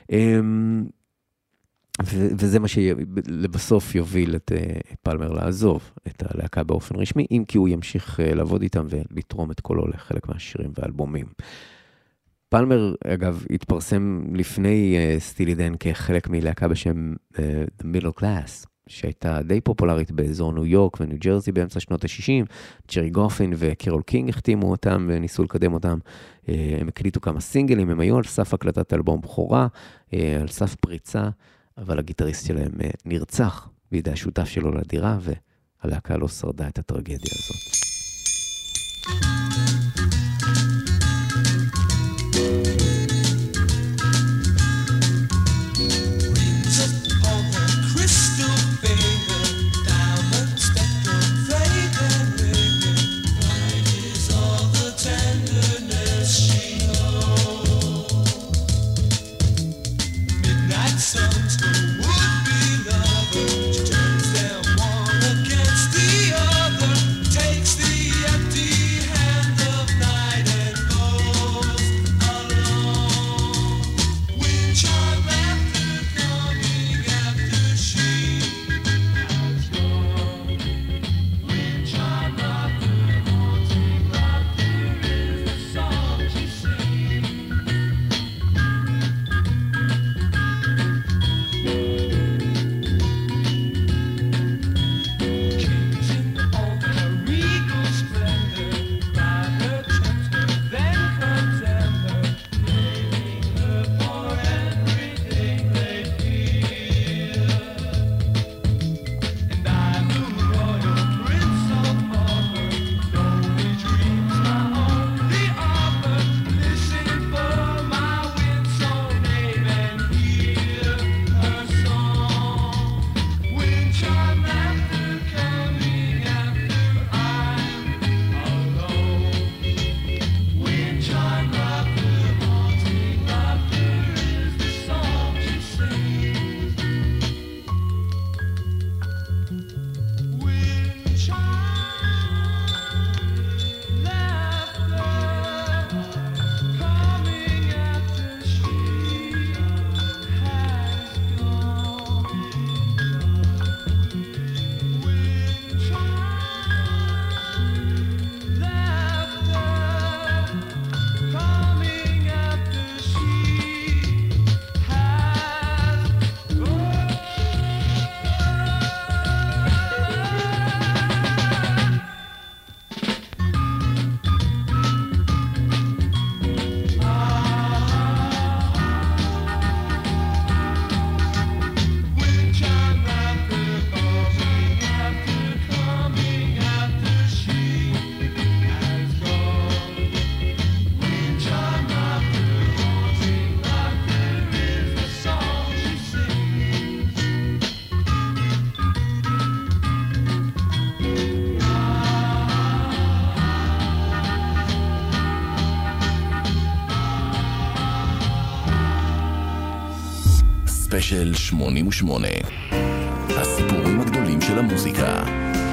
וזה מה שלבסוף יוביל את פלמר לעזוב את הלהקה באופן רשמי, אם כי הוא ימשיך לעבוד איתם ולתרום את קולו לחלק מהשירים והאלבומים. פלמר, אגב, התפרסם לפני סטילי דן כחלק מלהקה בשם The Middle Class, שהייתה די פופולרית באזור ניו יורק וניו ג'רזי באמצע שנות ה-שישים. ג'רי גופין וקירול קינג החתימו אותם וניסו לקדם אותם. הם הקליטו כמה סינגלים, הם היו על סף הקלטת אלבום בכורה, על סף פריצה, אבל הגיטריסט שלהם נרצח בידי השותף שלו לדירה, והלהקה לא שרדה את הטרגדיה הזאת. Sons who would be lovers, she turns them one against the other. ספיישל שמונים ושמונה. הסיפורים הגדולים של המוזיקה.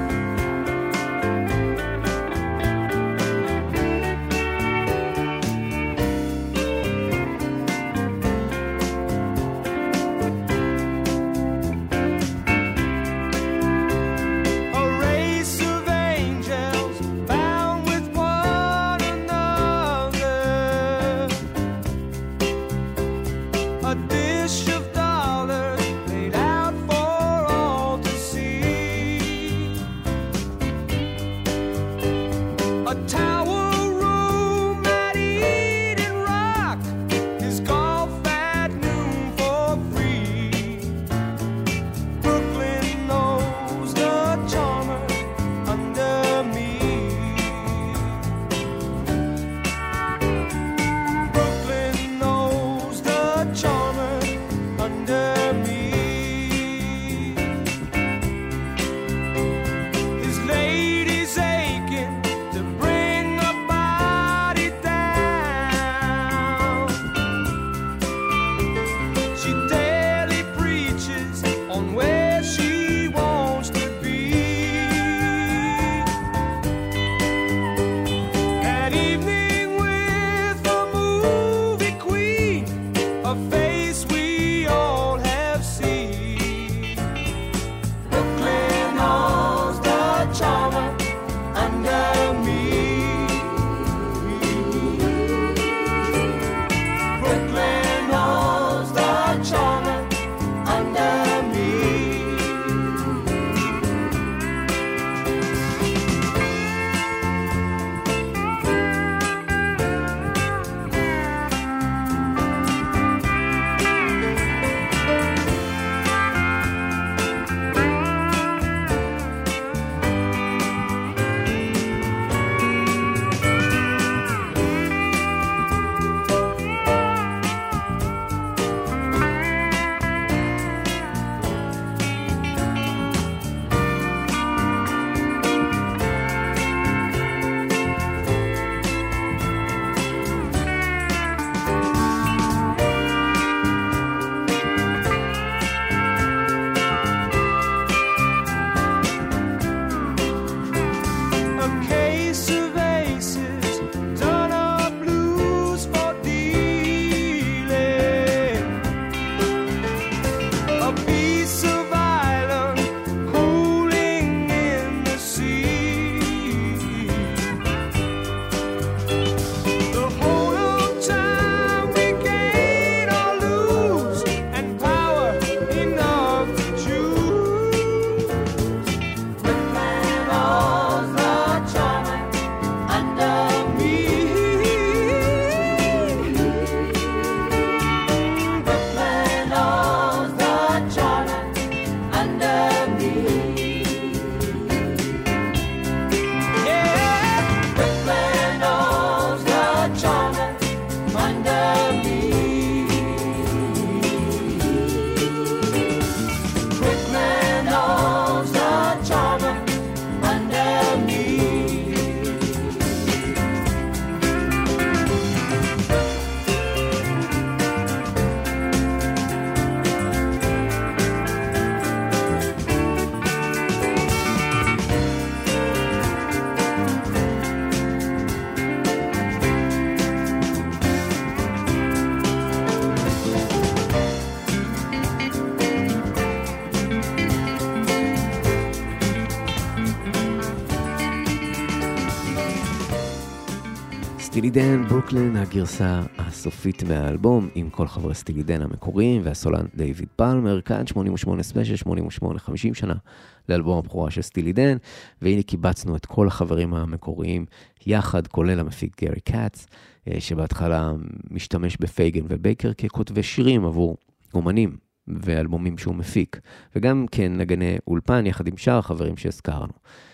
סטילי דן, ברוקלין, הגרסה הסופית מהאלבום, עם כל חברי סטילי דן המקוריים, והסולן דיוויד פלמר, כאן שמונים ושמונה ספיישל, שמונים ושמונה, חמישים שנה לאלבום הבכורה של סטילי דן, והנה קיבצנו את כל החברים המקוריים יחד, כולל המפיק גרי קאץ, שבהתחלה משתמש בפייגן ובייקר ככותבי שירים עבור אומנים ואלבומים שהוא מפיק, וגם כן נגני אולפן יחד עם שאר החברים שהזכרנו.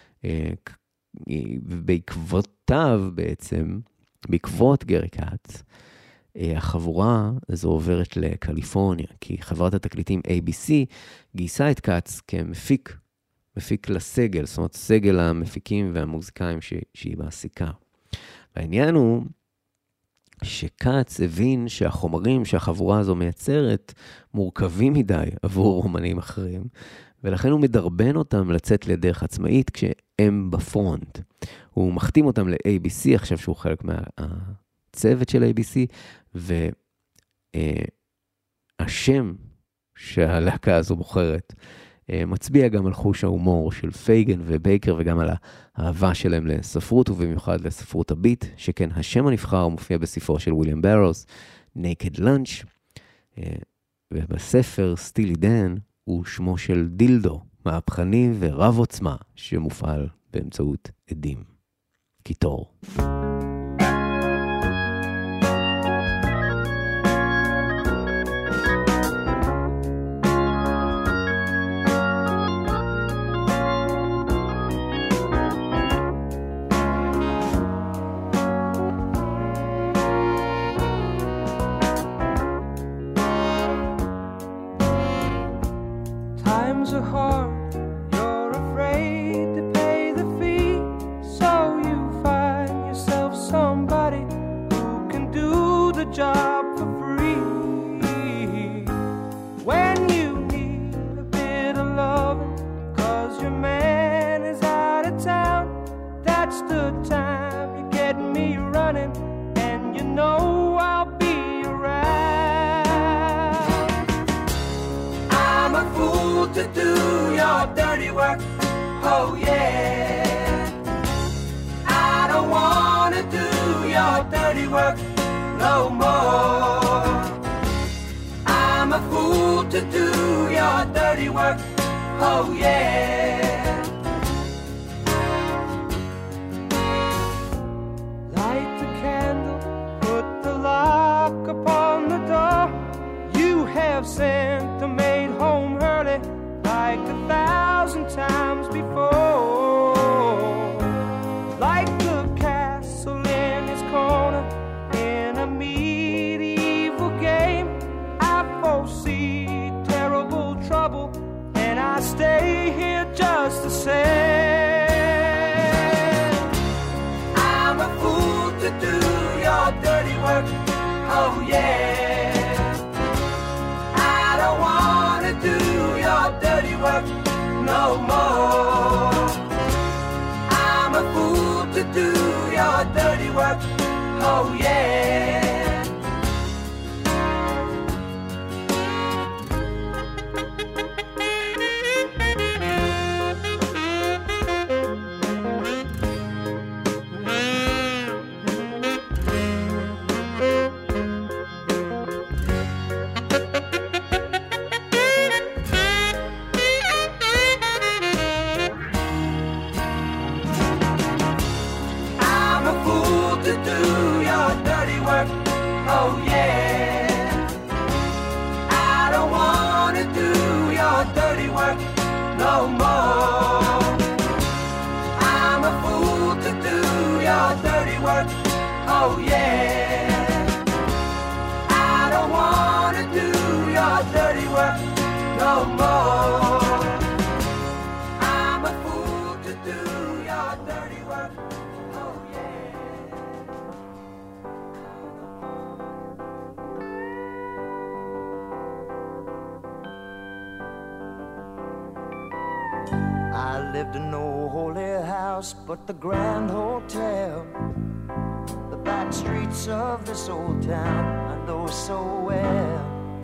ובעקבותיו בעצם, בעקבות גרי קאץ, החבורה הזו עוברת לקליפורניה, כי חברת התקליטים איי בי סי גייסה את קאץ כמפיק, מפיק לסגל, זאת אומרת סגל המפיקים והמוזיקאים ש... שהיא מעסיקה. והעניין הוא שקאץ הבין שהחומרים שהחבורה הזו מייצרת מורכבים מדי עבור אומנים אחרים, ולכן הוא מדרבן אותם לצאת לדרך עצמאית כשהם בפרונט. הוא מחתים אותם ל-איי בי סי, עכשיו שהוא חלק מהצוות של איי בי סי, והשם שהלהקה הזו בוחרת מצביע גם על חוש ההומור של פייגן ובייקר, וגם על האהבה שלהם לספרות, ובמיוחד לספרות הביט, שכן השם הנבחר מופיע בספרו של וויליאם ברוס, Naked Lunch, ובספר סטילי דן הוא שמו של דילדו, מהפכני ורב עוצמה, שמופעל באמצעות עדים. קיטור. Times are hard, you're afraid to pay the fee, so you find yourself somebody who can do the job for free. When you need a bit of loving, cause your man is out of town, that's the time you get me running, and you know I'll be around. I'm a fool to do your dirty work, oh yeah. I don't wanna do your dirty work no more. I'm a fool to do your dirty work, oh yeah. Light the candle, put the lock upon the door. You have sent the maid home early, like a thousand times before. Like the castle in its corner in a medieval game, I foresee terrible trouble, and I stay here just the same. I'm a fool to do your dirty work, oh yeah. I don't wanna do your dirty work no more. I'm a fool to do your dirty work, oh yeah. Oh yeah, I don't wanna do your dirty work no more. I'm a fool to do your dirty work, oh yeah. I don't wanna do your dirty work no more. I'm a fool to do your dirty work, oh yeah. I lived in no holy house but the Grand Hotel. The back streets of this old town I know so well.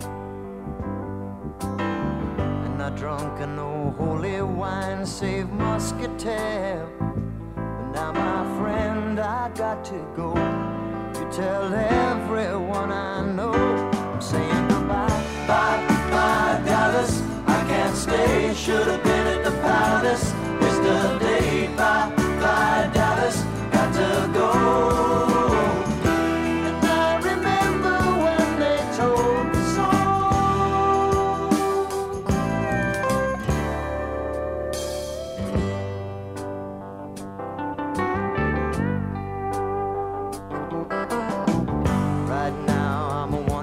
And I drunk in no holy wine save muscatel. But now my friend I got to go. You tell everyone I know I'm saying goodbye. Bye, bye Dallas, I can't stay. Should have been at the palace yesterday. Bye, bye Dallas, got to go. And I remember when they told me so. Right now I'm a one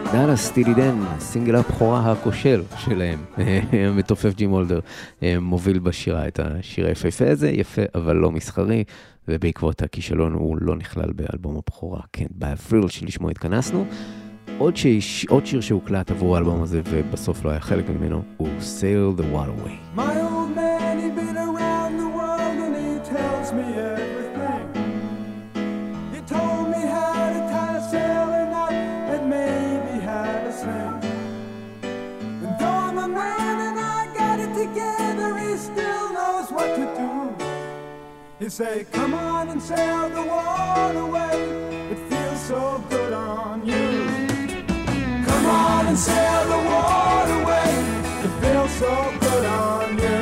דאלאס, סטילי דן, סינגל הבכורה הכושל שלהם. המתופף ג'ים הולדר מוביל בשירה את השיר היפהפה הזה, יפה אבל לא מסחרי, ובעקבות הכישלון הוא לא נכלל באלבום הבכורה, כן, בהפריל שלשמו התכנסנו. עוד, שיש, עוד שיר שהוקלט עבור האלבום הזה ובסוף לא היה חלק ממנו, הוא Sail the Waterway. My old man, he'd been around the world and he tells me everything. He told me how to tie a sailing knot and maybe how to sing. And though I'm a man and I got it together, he still knows what to do. He'd say, come on and sail the waterway, it feels so good on you. Come on and sail the waterway, it feels so good on you.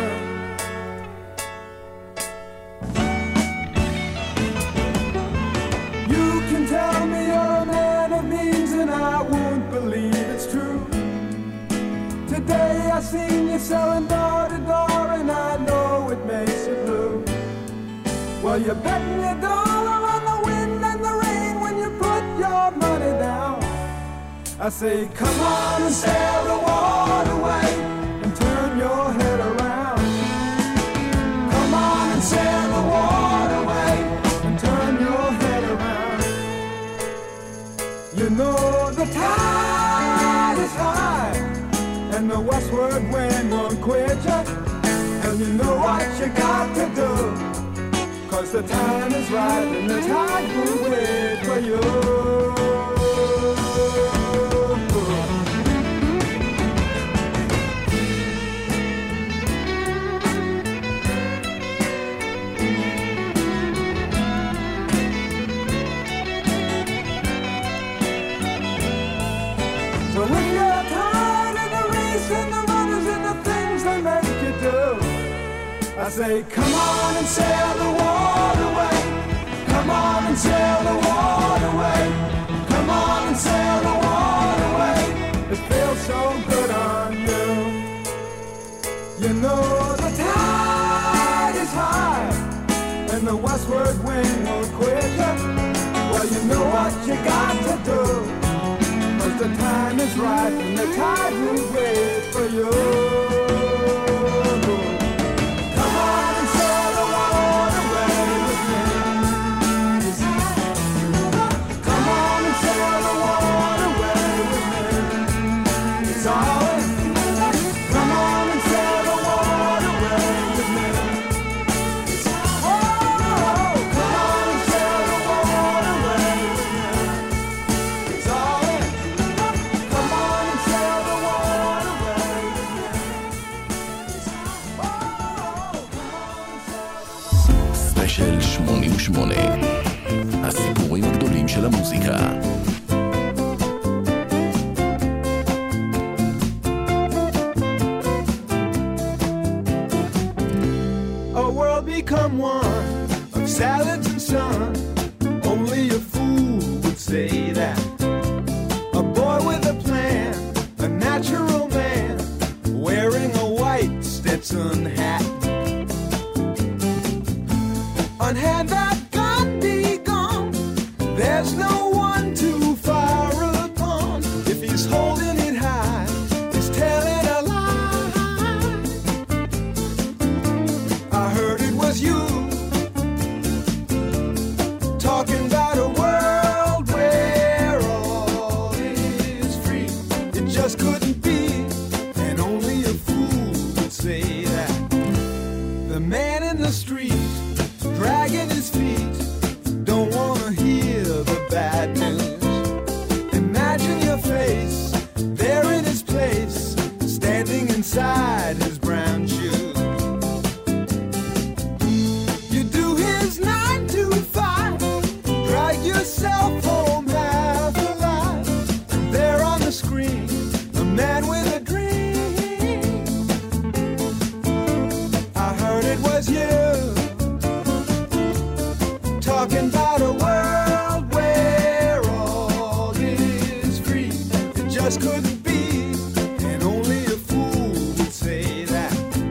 You can tell me you're a man of means and I won't believe it's true. Today I seen you selling door to door and I know it makes you blue. Well, you're betting your dollar on the wind and the rain when you put your money down. I say, come on and sail the waterway and turn your head around. Come on and sail the waterway and turn your head around. You know the tide is high and the westward wind won't quit you. And you know what you got to do, 'cause the time is right and the tide will wait for you. So if you're tired of the race and the runners and the things they make you do, I say, come on and sail the waterway. Come on and sail the waterway. Come on and sail the waterway. It feels so good on you. You know the tide is high and the westward wind won't quit you. Well, you know what you got to do, 'cause the time is right and the tide will wait for you. של שמונים ושמונה, הסיפורים הגדולים של המוזיקה. A world become one of salads and sun. Only a fool would say that. A boy with a plan, a natural man, wearing a white Stetson hat. On hand that gun be gone, there's no one to fire upon. If he's holding it high, he's telling a lie. I heard it was you, talking about a world where all is free. It just couldn't be, and only a fool would say that. The man in the street, dragging his feet, don't wanna hear the bad news. Imagine your face, there in his place, standing inside his brown shoes. You do his nine to five, drag yourself home half alive, and there on the screen, a man with a dream. I heard it was you, talking about a world where all is free. It just couldn't be, and only a fool would say that.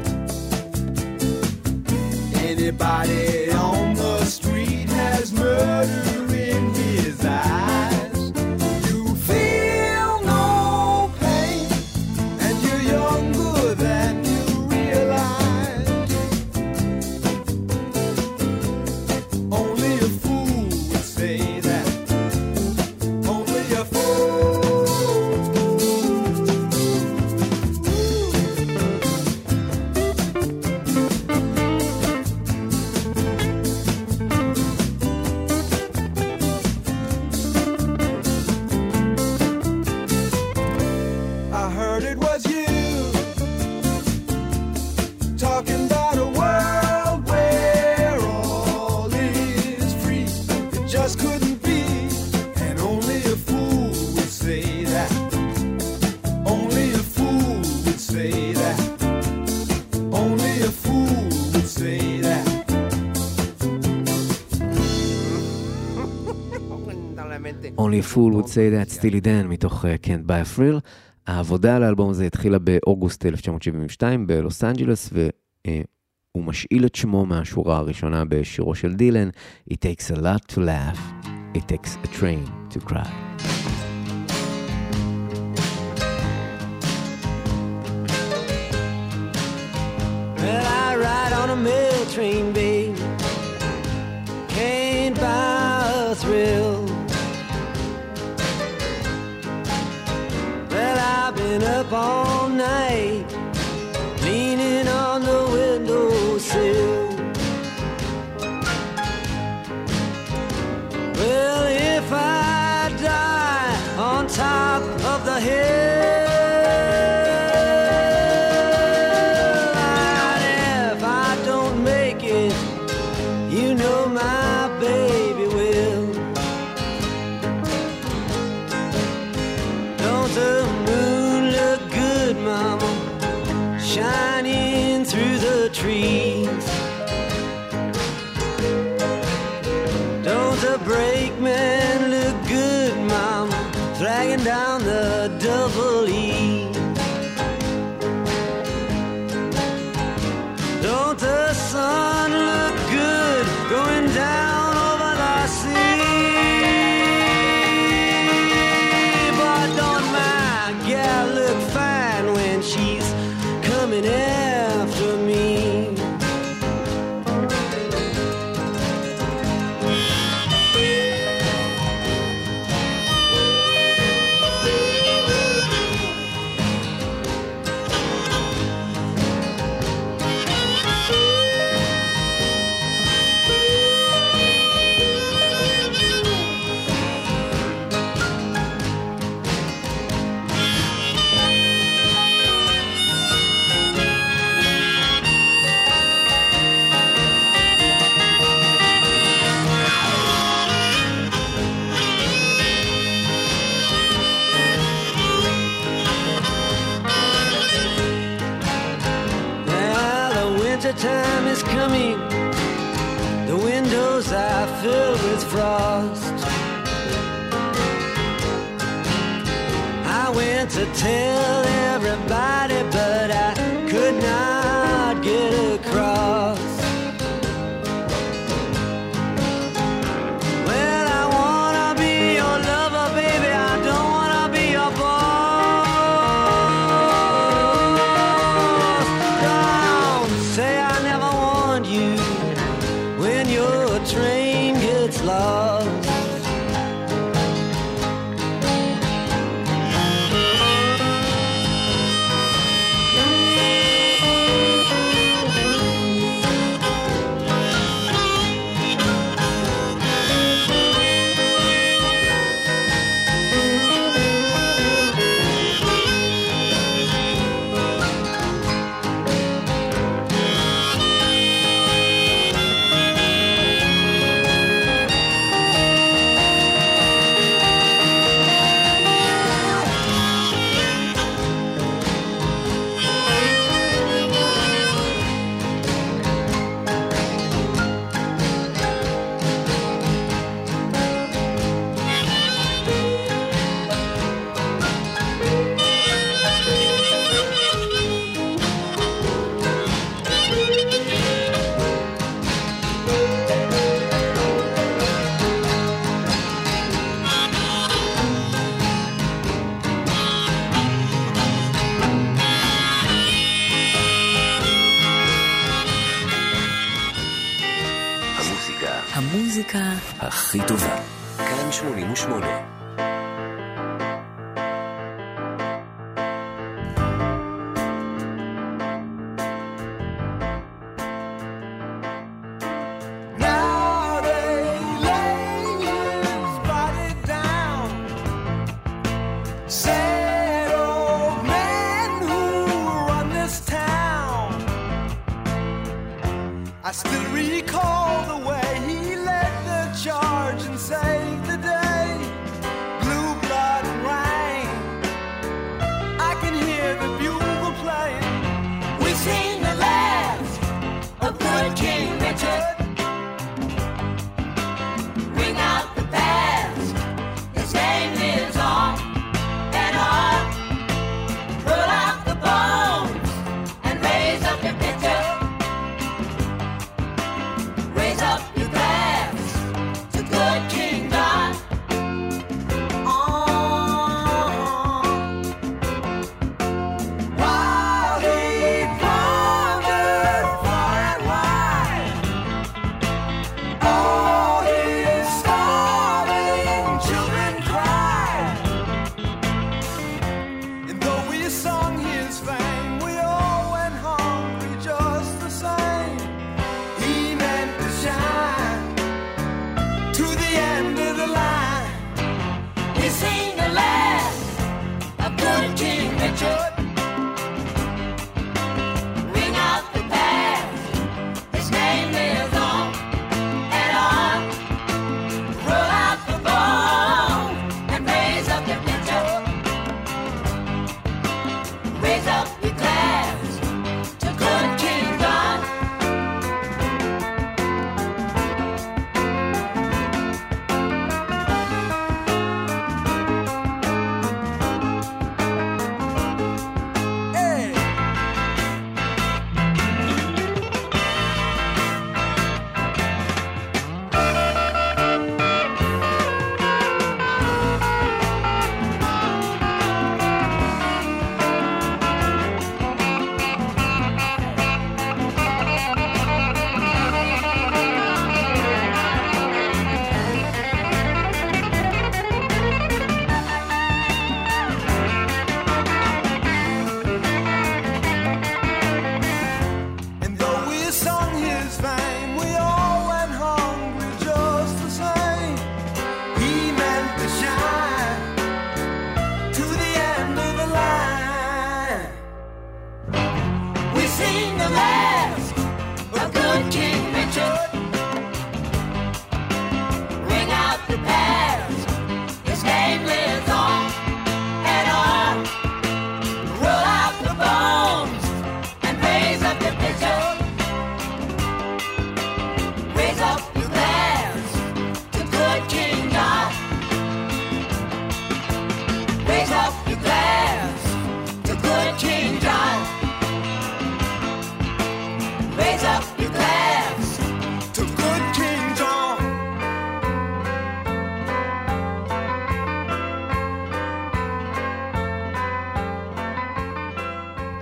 Anybody on the street has murder in his eyes. You feel no Only a fool would say that, סטילי דן, מתוך uh, Can't Buy a Thrill. העבודה על האלבום הזה התחילה באוגוסט אלף תשע מאות שבעים ושתיים בלוס אנג'לס, והוא משאיל את שמו מהשורה הראשונה בשירו של דילן, It takes a lot to laugh, it takes a train to cry. Well, I ride on a mail train, babe, can't buy a thrill. Well, I've been up all night, leaning on the windowsill. Well, if I die on top of the hill, and if I don't make it, you know my baby will. Don't the moon look good, mama, shining through the trees? Don't the brakeman look good, mama, dragging down the double E? Don't the sun look good going down over the sea? But don't my gal look fine when she's coming after me? Time is coming, the windows are filled with frost. I went to tell everybody, but I could not get across. Well, I wanna be your lover, baby, I don't wanna be your boss. Say I never warned you when your train gets lost. המוזיקה הכי טובה. כאן שמונים ושמונה. I still recall the way he led the charge and saved the day.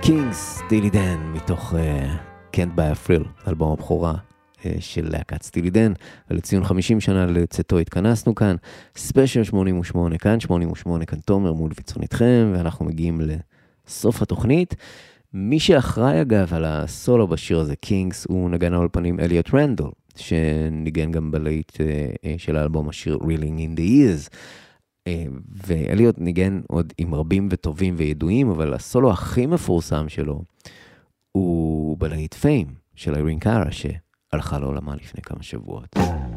קינגס, סטילי דן, מתוך uh, Can't Buy a Thrill, אלבום הבכורה uh, של להקת סטילי דן, ולציון חמישים שנה לצאתו התכנסנו כאן, ספיישל שמונים ושמונה כאן, שמונים ושמונה כאן תומר מול ויצון איתכם, ואנחנו מגיעים לסוף התוכנית. מי שאחראי אגב על הסולו בשיר הזה, קינגס, הוא נגן האולפנים אליוט רנדל, שניגן גם בלהיט uh, uh, של האלבום השיר Reeling in the Years, ואליוט ניגן עוד עם רבים וטובים וידועים, אבל הסולו הכי מפורסם שלו הוא בלהיט פיים של איירין קארה, שהלכה לעולמה לפני כמה שבועות.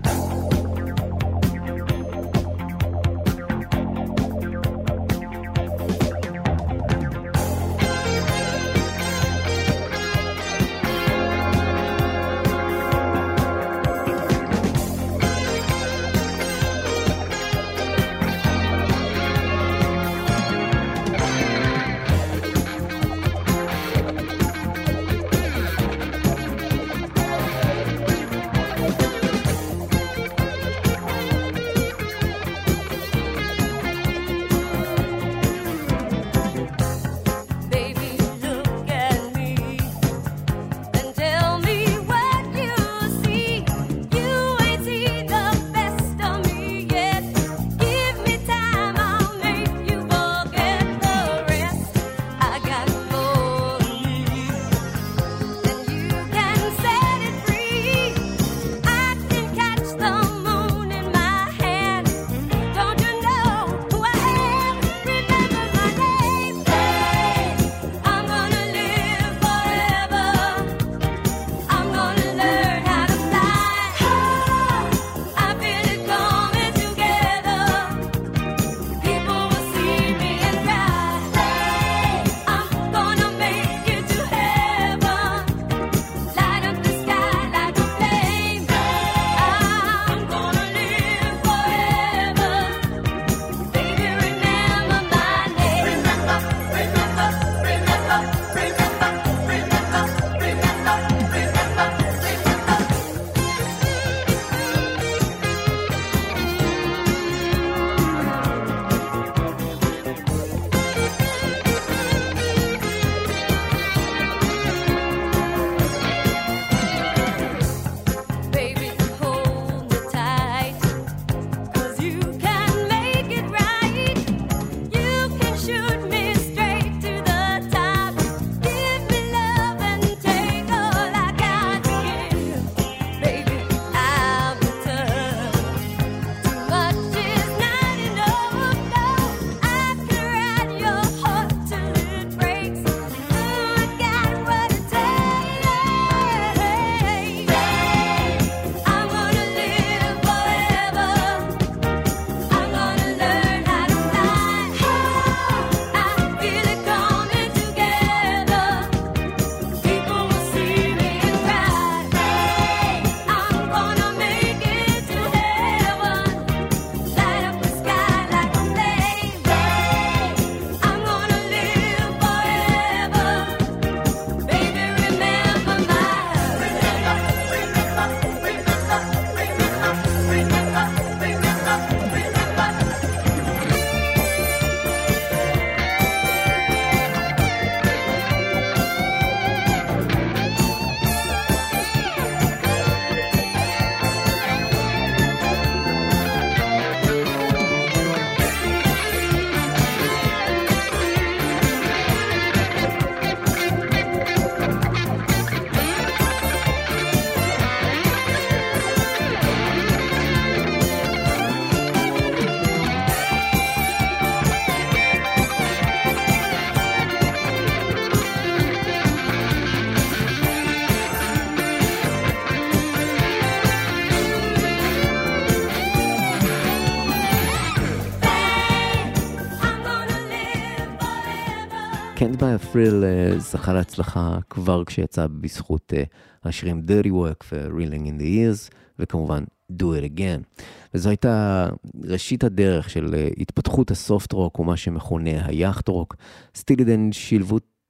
Can't Buy a Thrill uh, זכה להצלחה כבר כשיצא בזכות uh, השירים Dirty Work ו-Reeling in the Years, וכמובן Do It Again. וזו הייתה ראשית הדרך של uh, התפתחות הסופט רוק, ומה שמכונה היאכט רוק. סטילי דן שילבו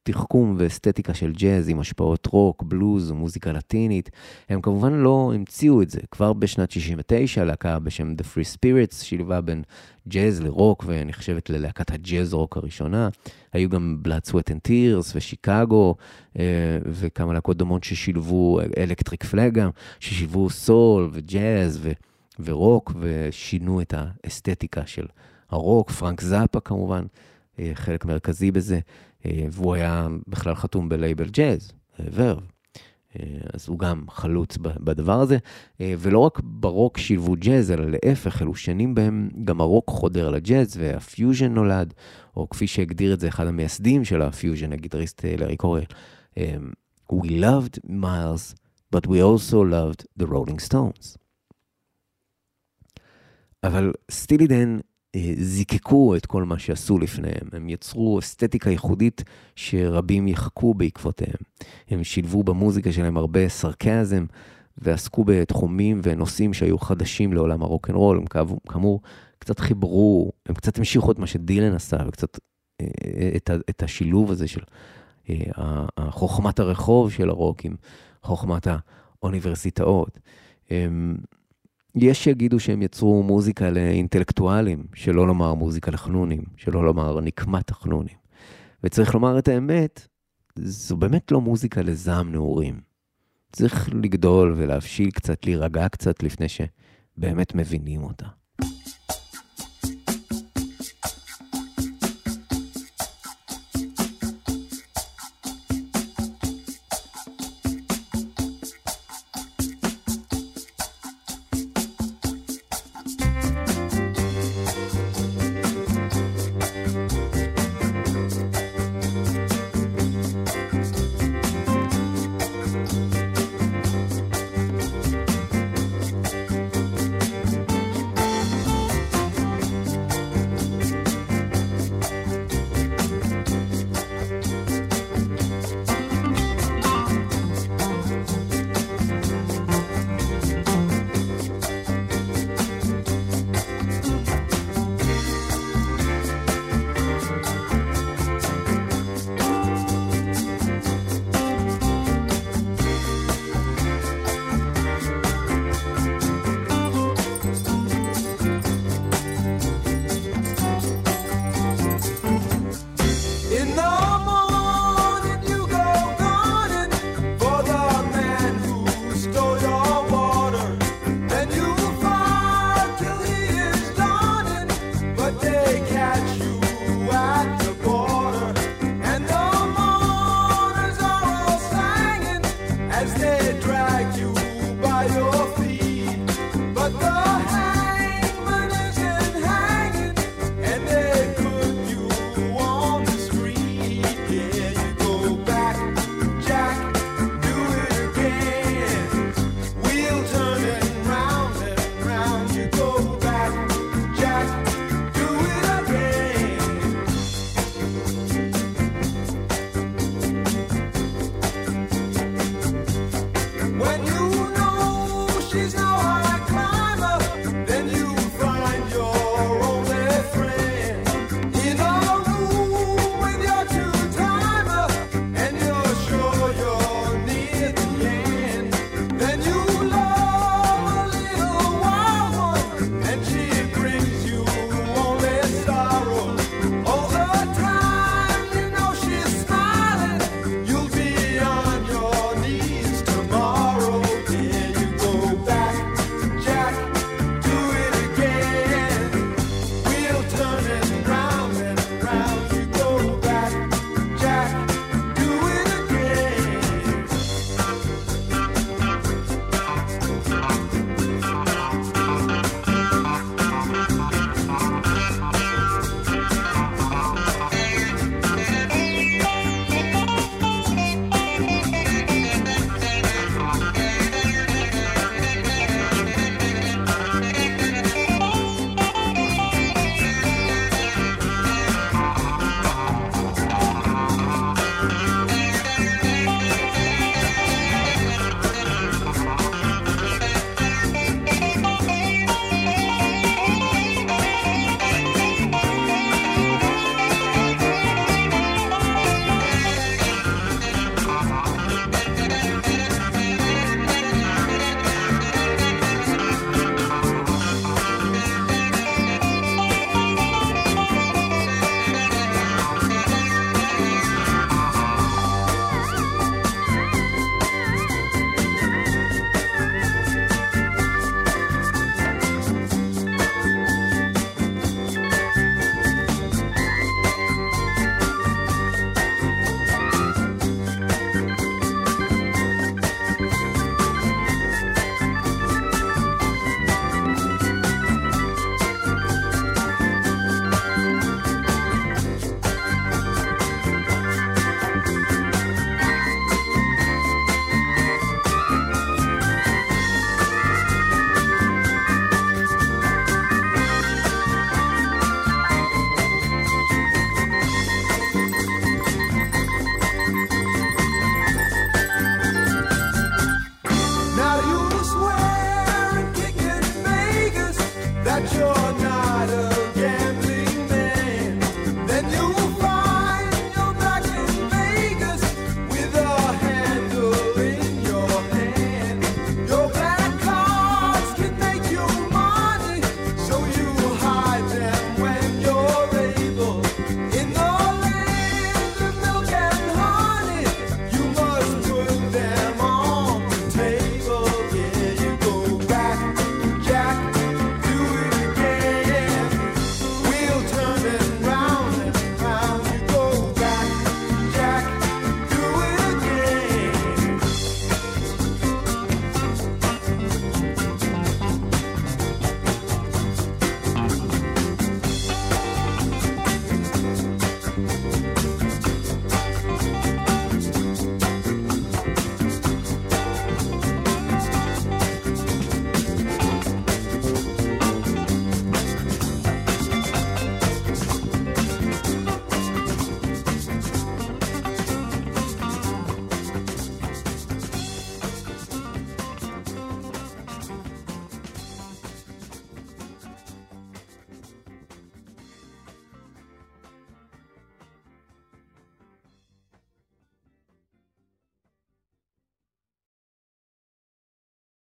תחכום ואסתטיקה של ג'אז עם השפעות רוק, בלוז ומוזיקה לטינית. הם כמובן לא המציאו את זה. כבר בשנת שישים ותשע, להקה בשם The Free Spirits, שילבה בין ג'אז לרוק, ונחשבת ללהקת הג'אז רוק הראשונה. היו גם Blood, Sweat and Tears ושיקגו, וכמה להקות דומות ששילבו, אלקטריק פלאג גם, ששילבו סול וג'אז ו... ורוק, ושינו את האסתטיקה של הרוק. פרנק זאפה כמובן, חלק מרכזי בזה, והוא היה בכלל חתום בלייבל ג'אז, ורב. אז הוא גם חלוץ בדבר הזה, ולא רק ברוק שילבו ג'אז, אלא להפך, אלו שנים בהם גם הרוק חודר לג'אז, והפיוז'ן נולד, או כפי שהגדיר את זה אחד המייסדים של הפיוז'ן, הגיטריסט לארי קורל. We loved Miles, but we also loved the Rolling Stones. אבל סטילי דן זיקקו את כל מה שעשו לפניהם. הם יצרו אסתטיקה ייחודית שרבים יחכו בעקבותיהם. הם שילבו במוזיקה שלהם הרבה סרקזם, ועסקו בתחומים ונושאים שהיו חדשים לעולם הרוק'נ'רול. הם כאמור קצת חיברו, הם קצת המשיכו את מה שדילן עשה, וקצת את, את השילוב הזה של חוכמת הרחוב של הרוק עם חוכמת האוניברסיטאות. יש שיגידו שהם יצרו מוזיקה לאינטלקטואלים, שלא לומר מוזיקה לחנונים, שלא לומר נקמת החנונים. וצריך לומר את האמת, זו באמת לא מוזיקה לזעם נעורים. צריך לגדול ולהבשיל קצת, להירגע קצת לפני שבאמת מבינים אותה.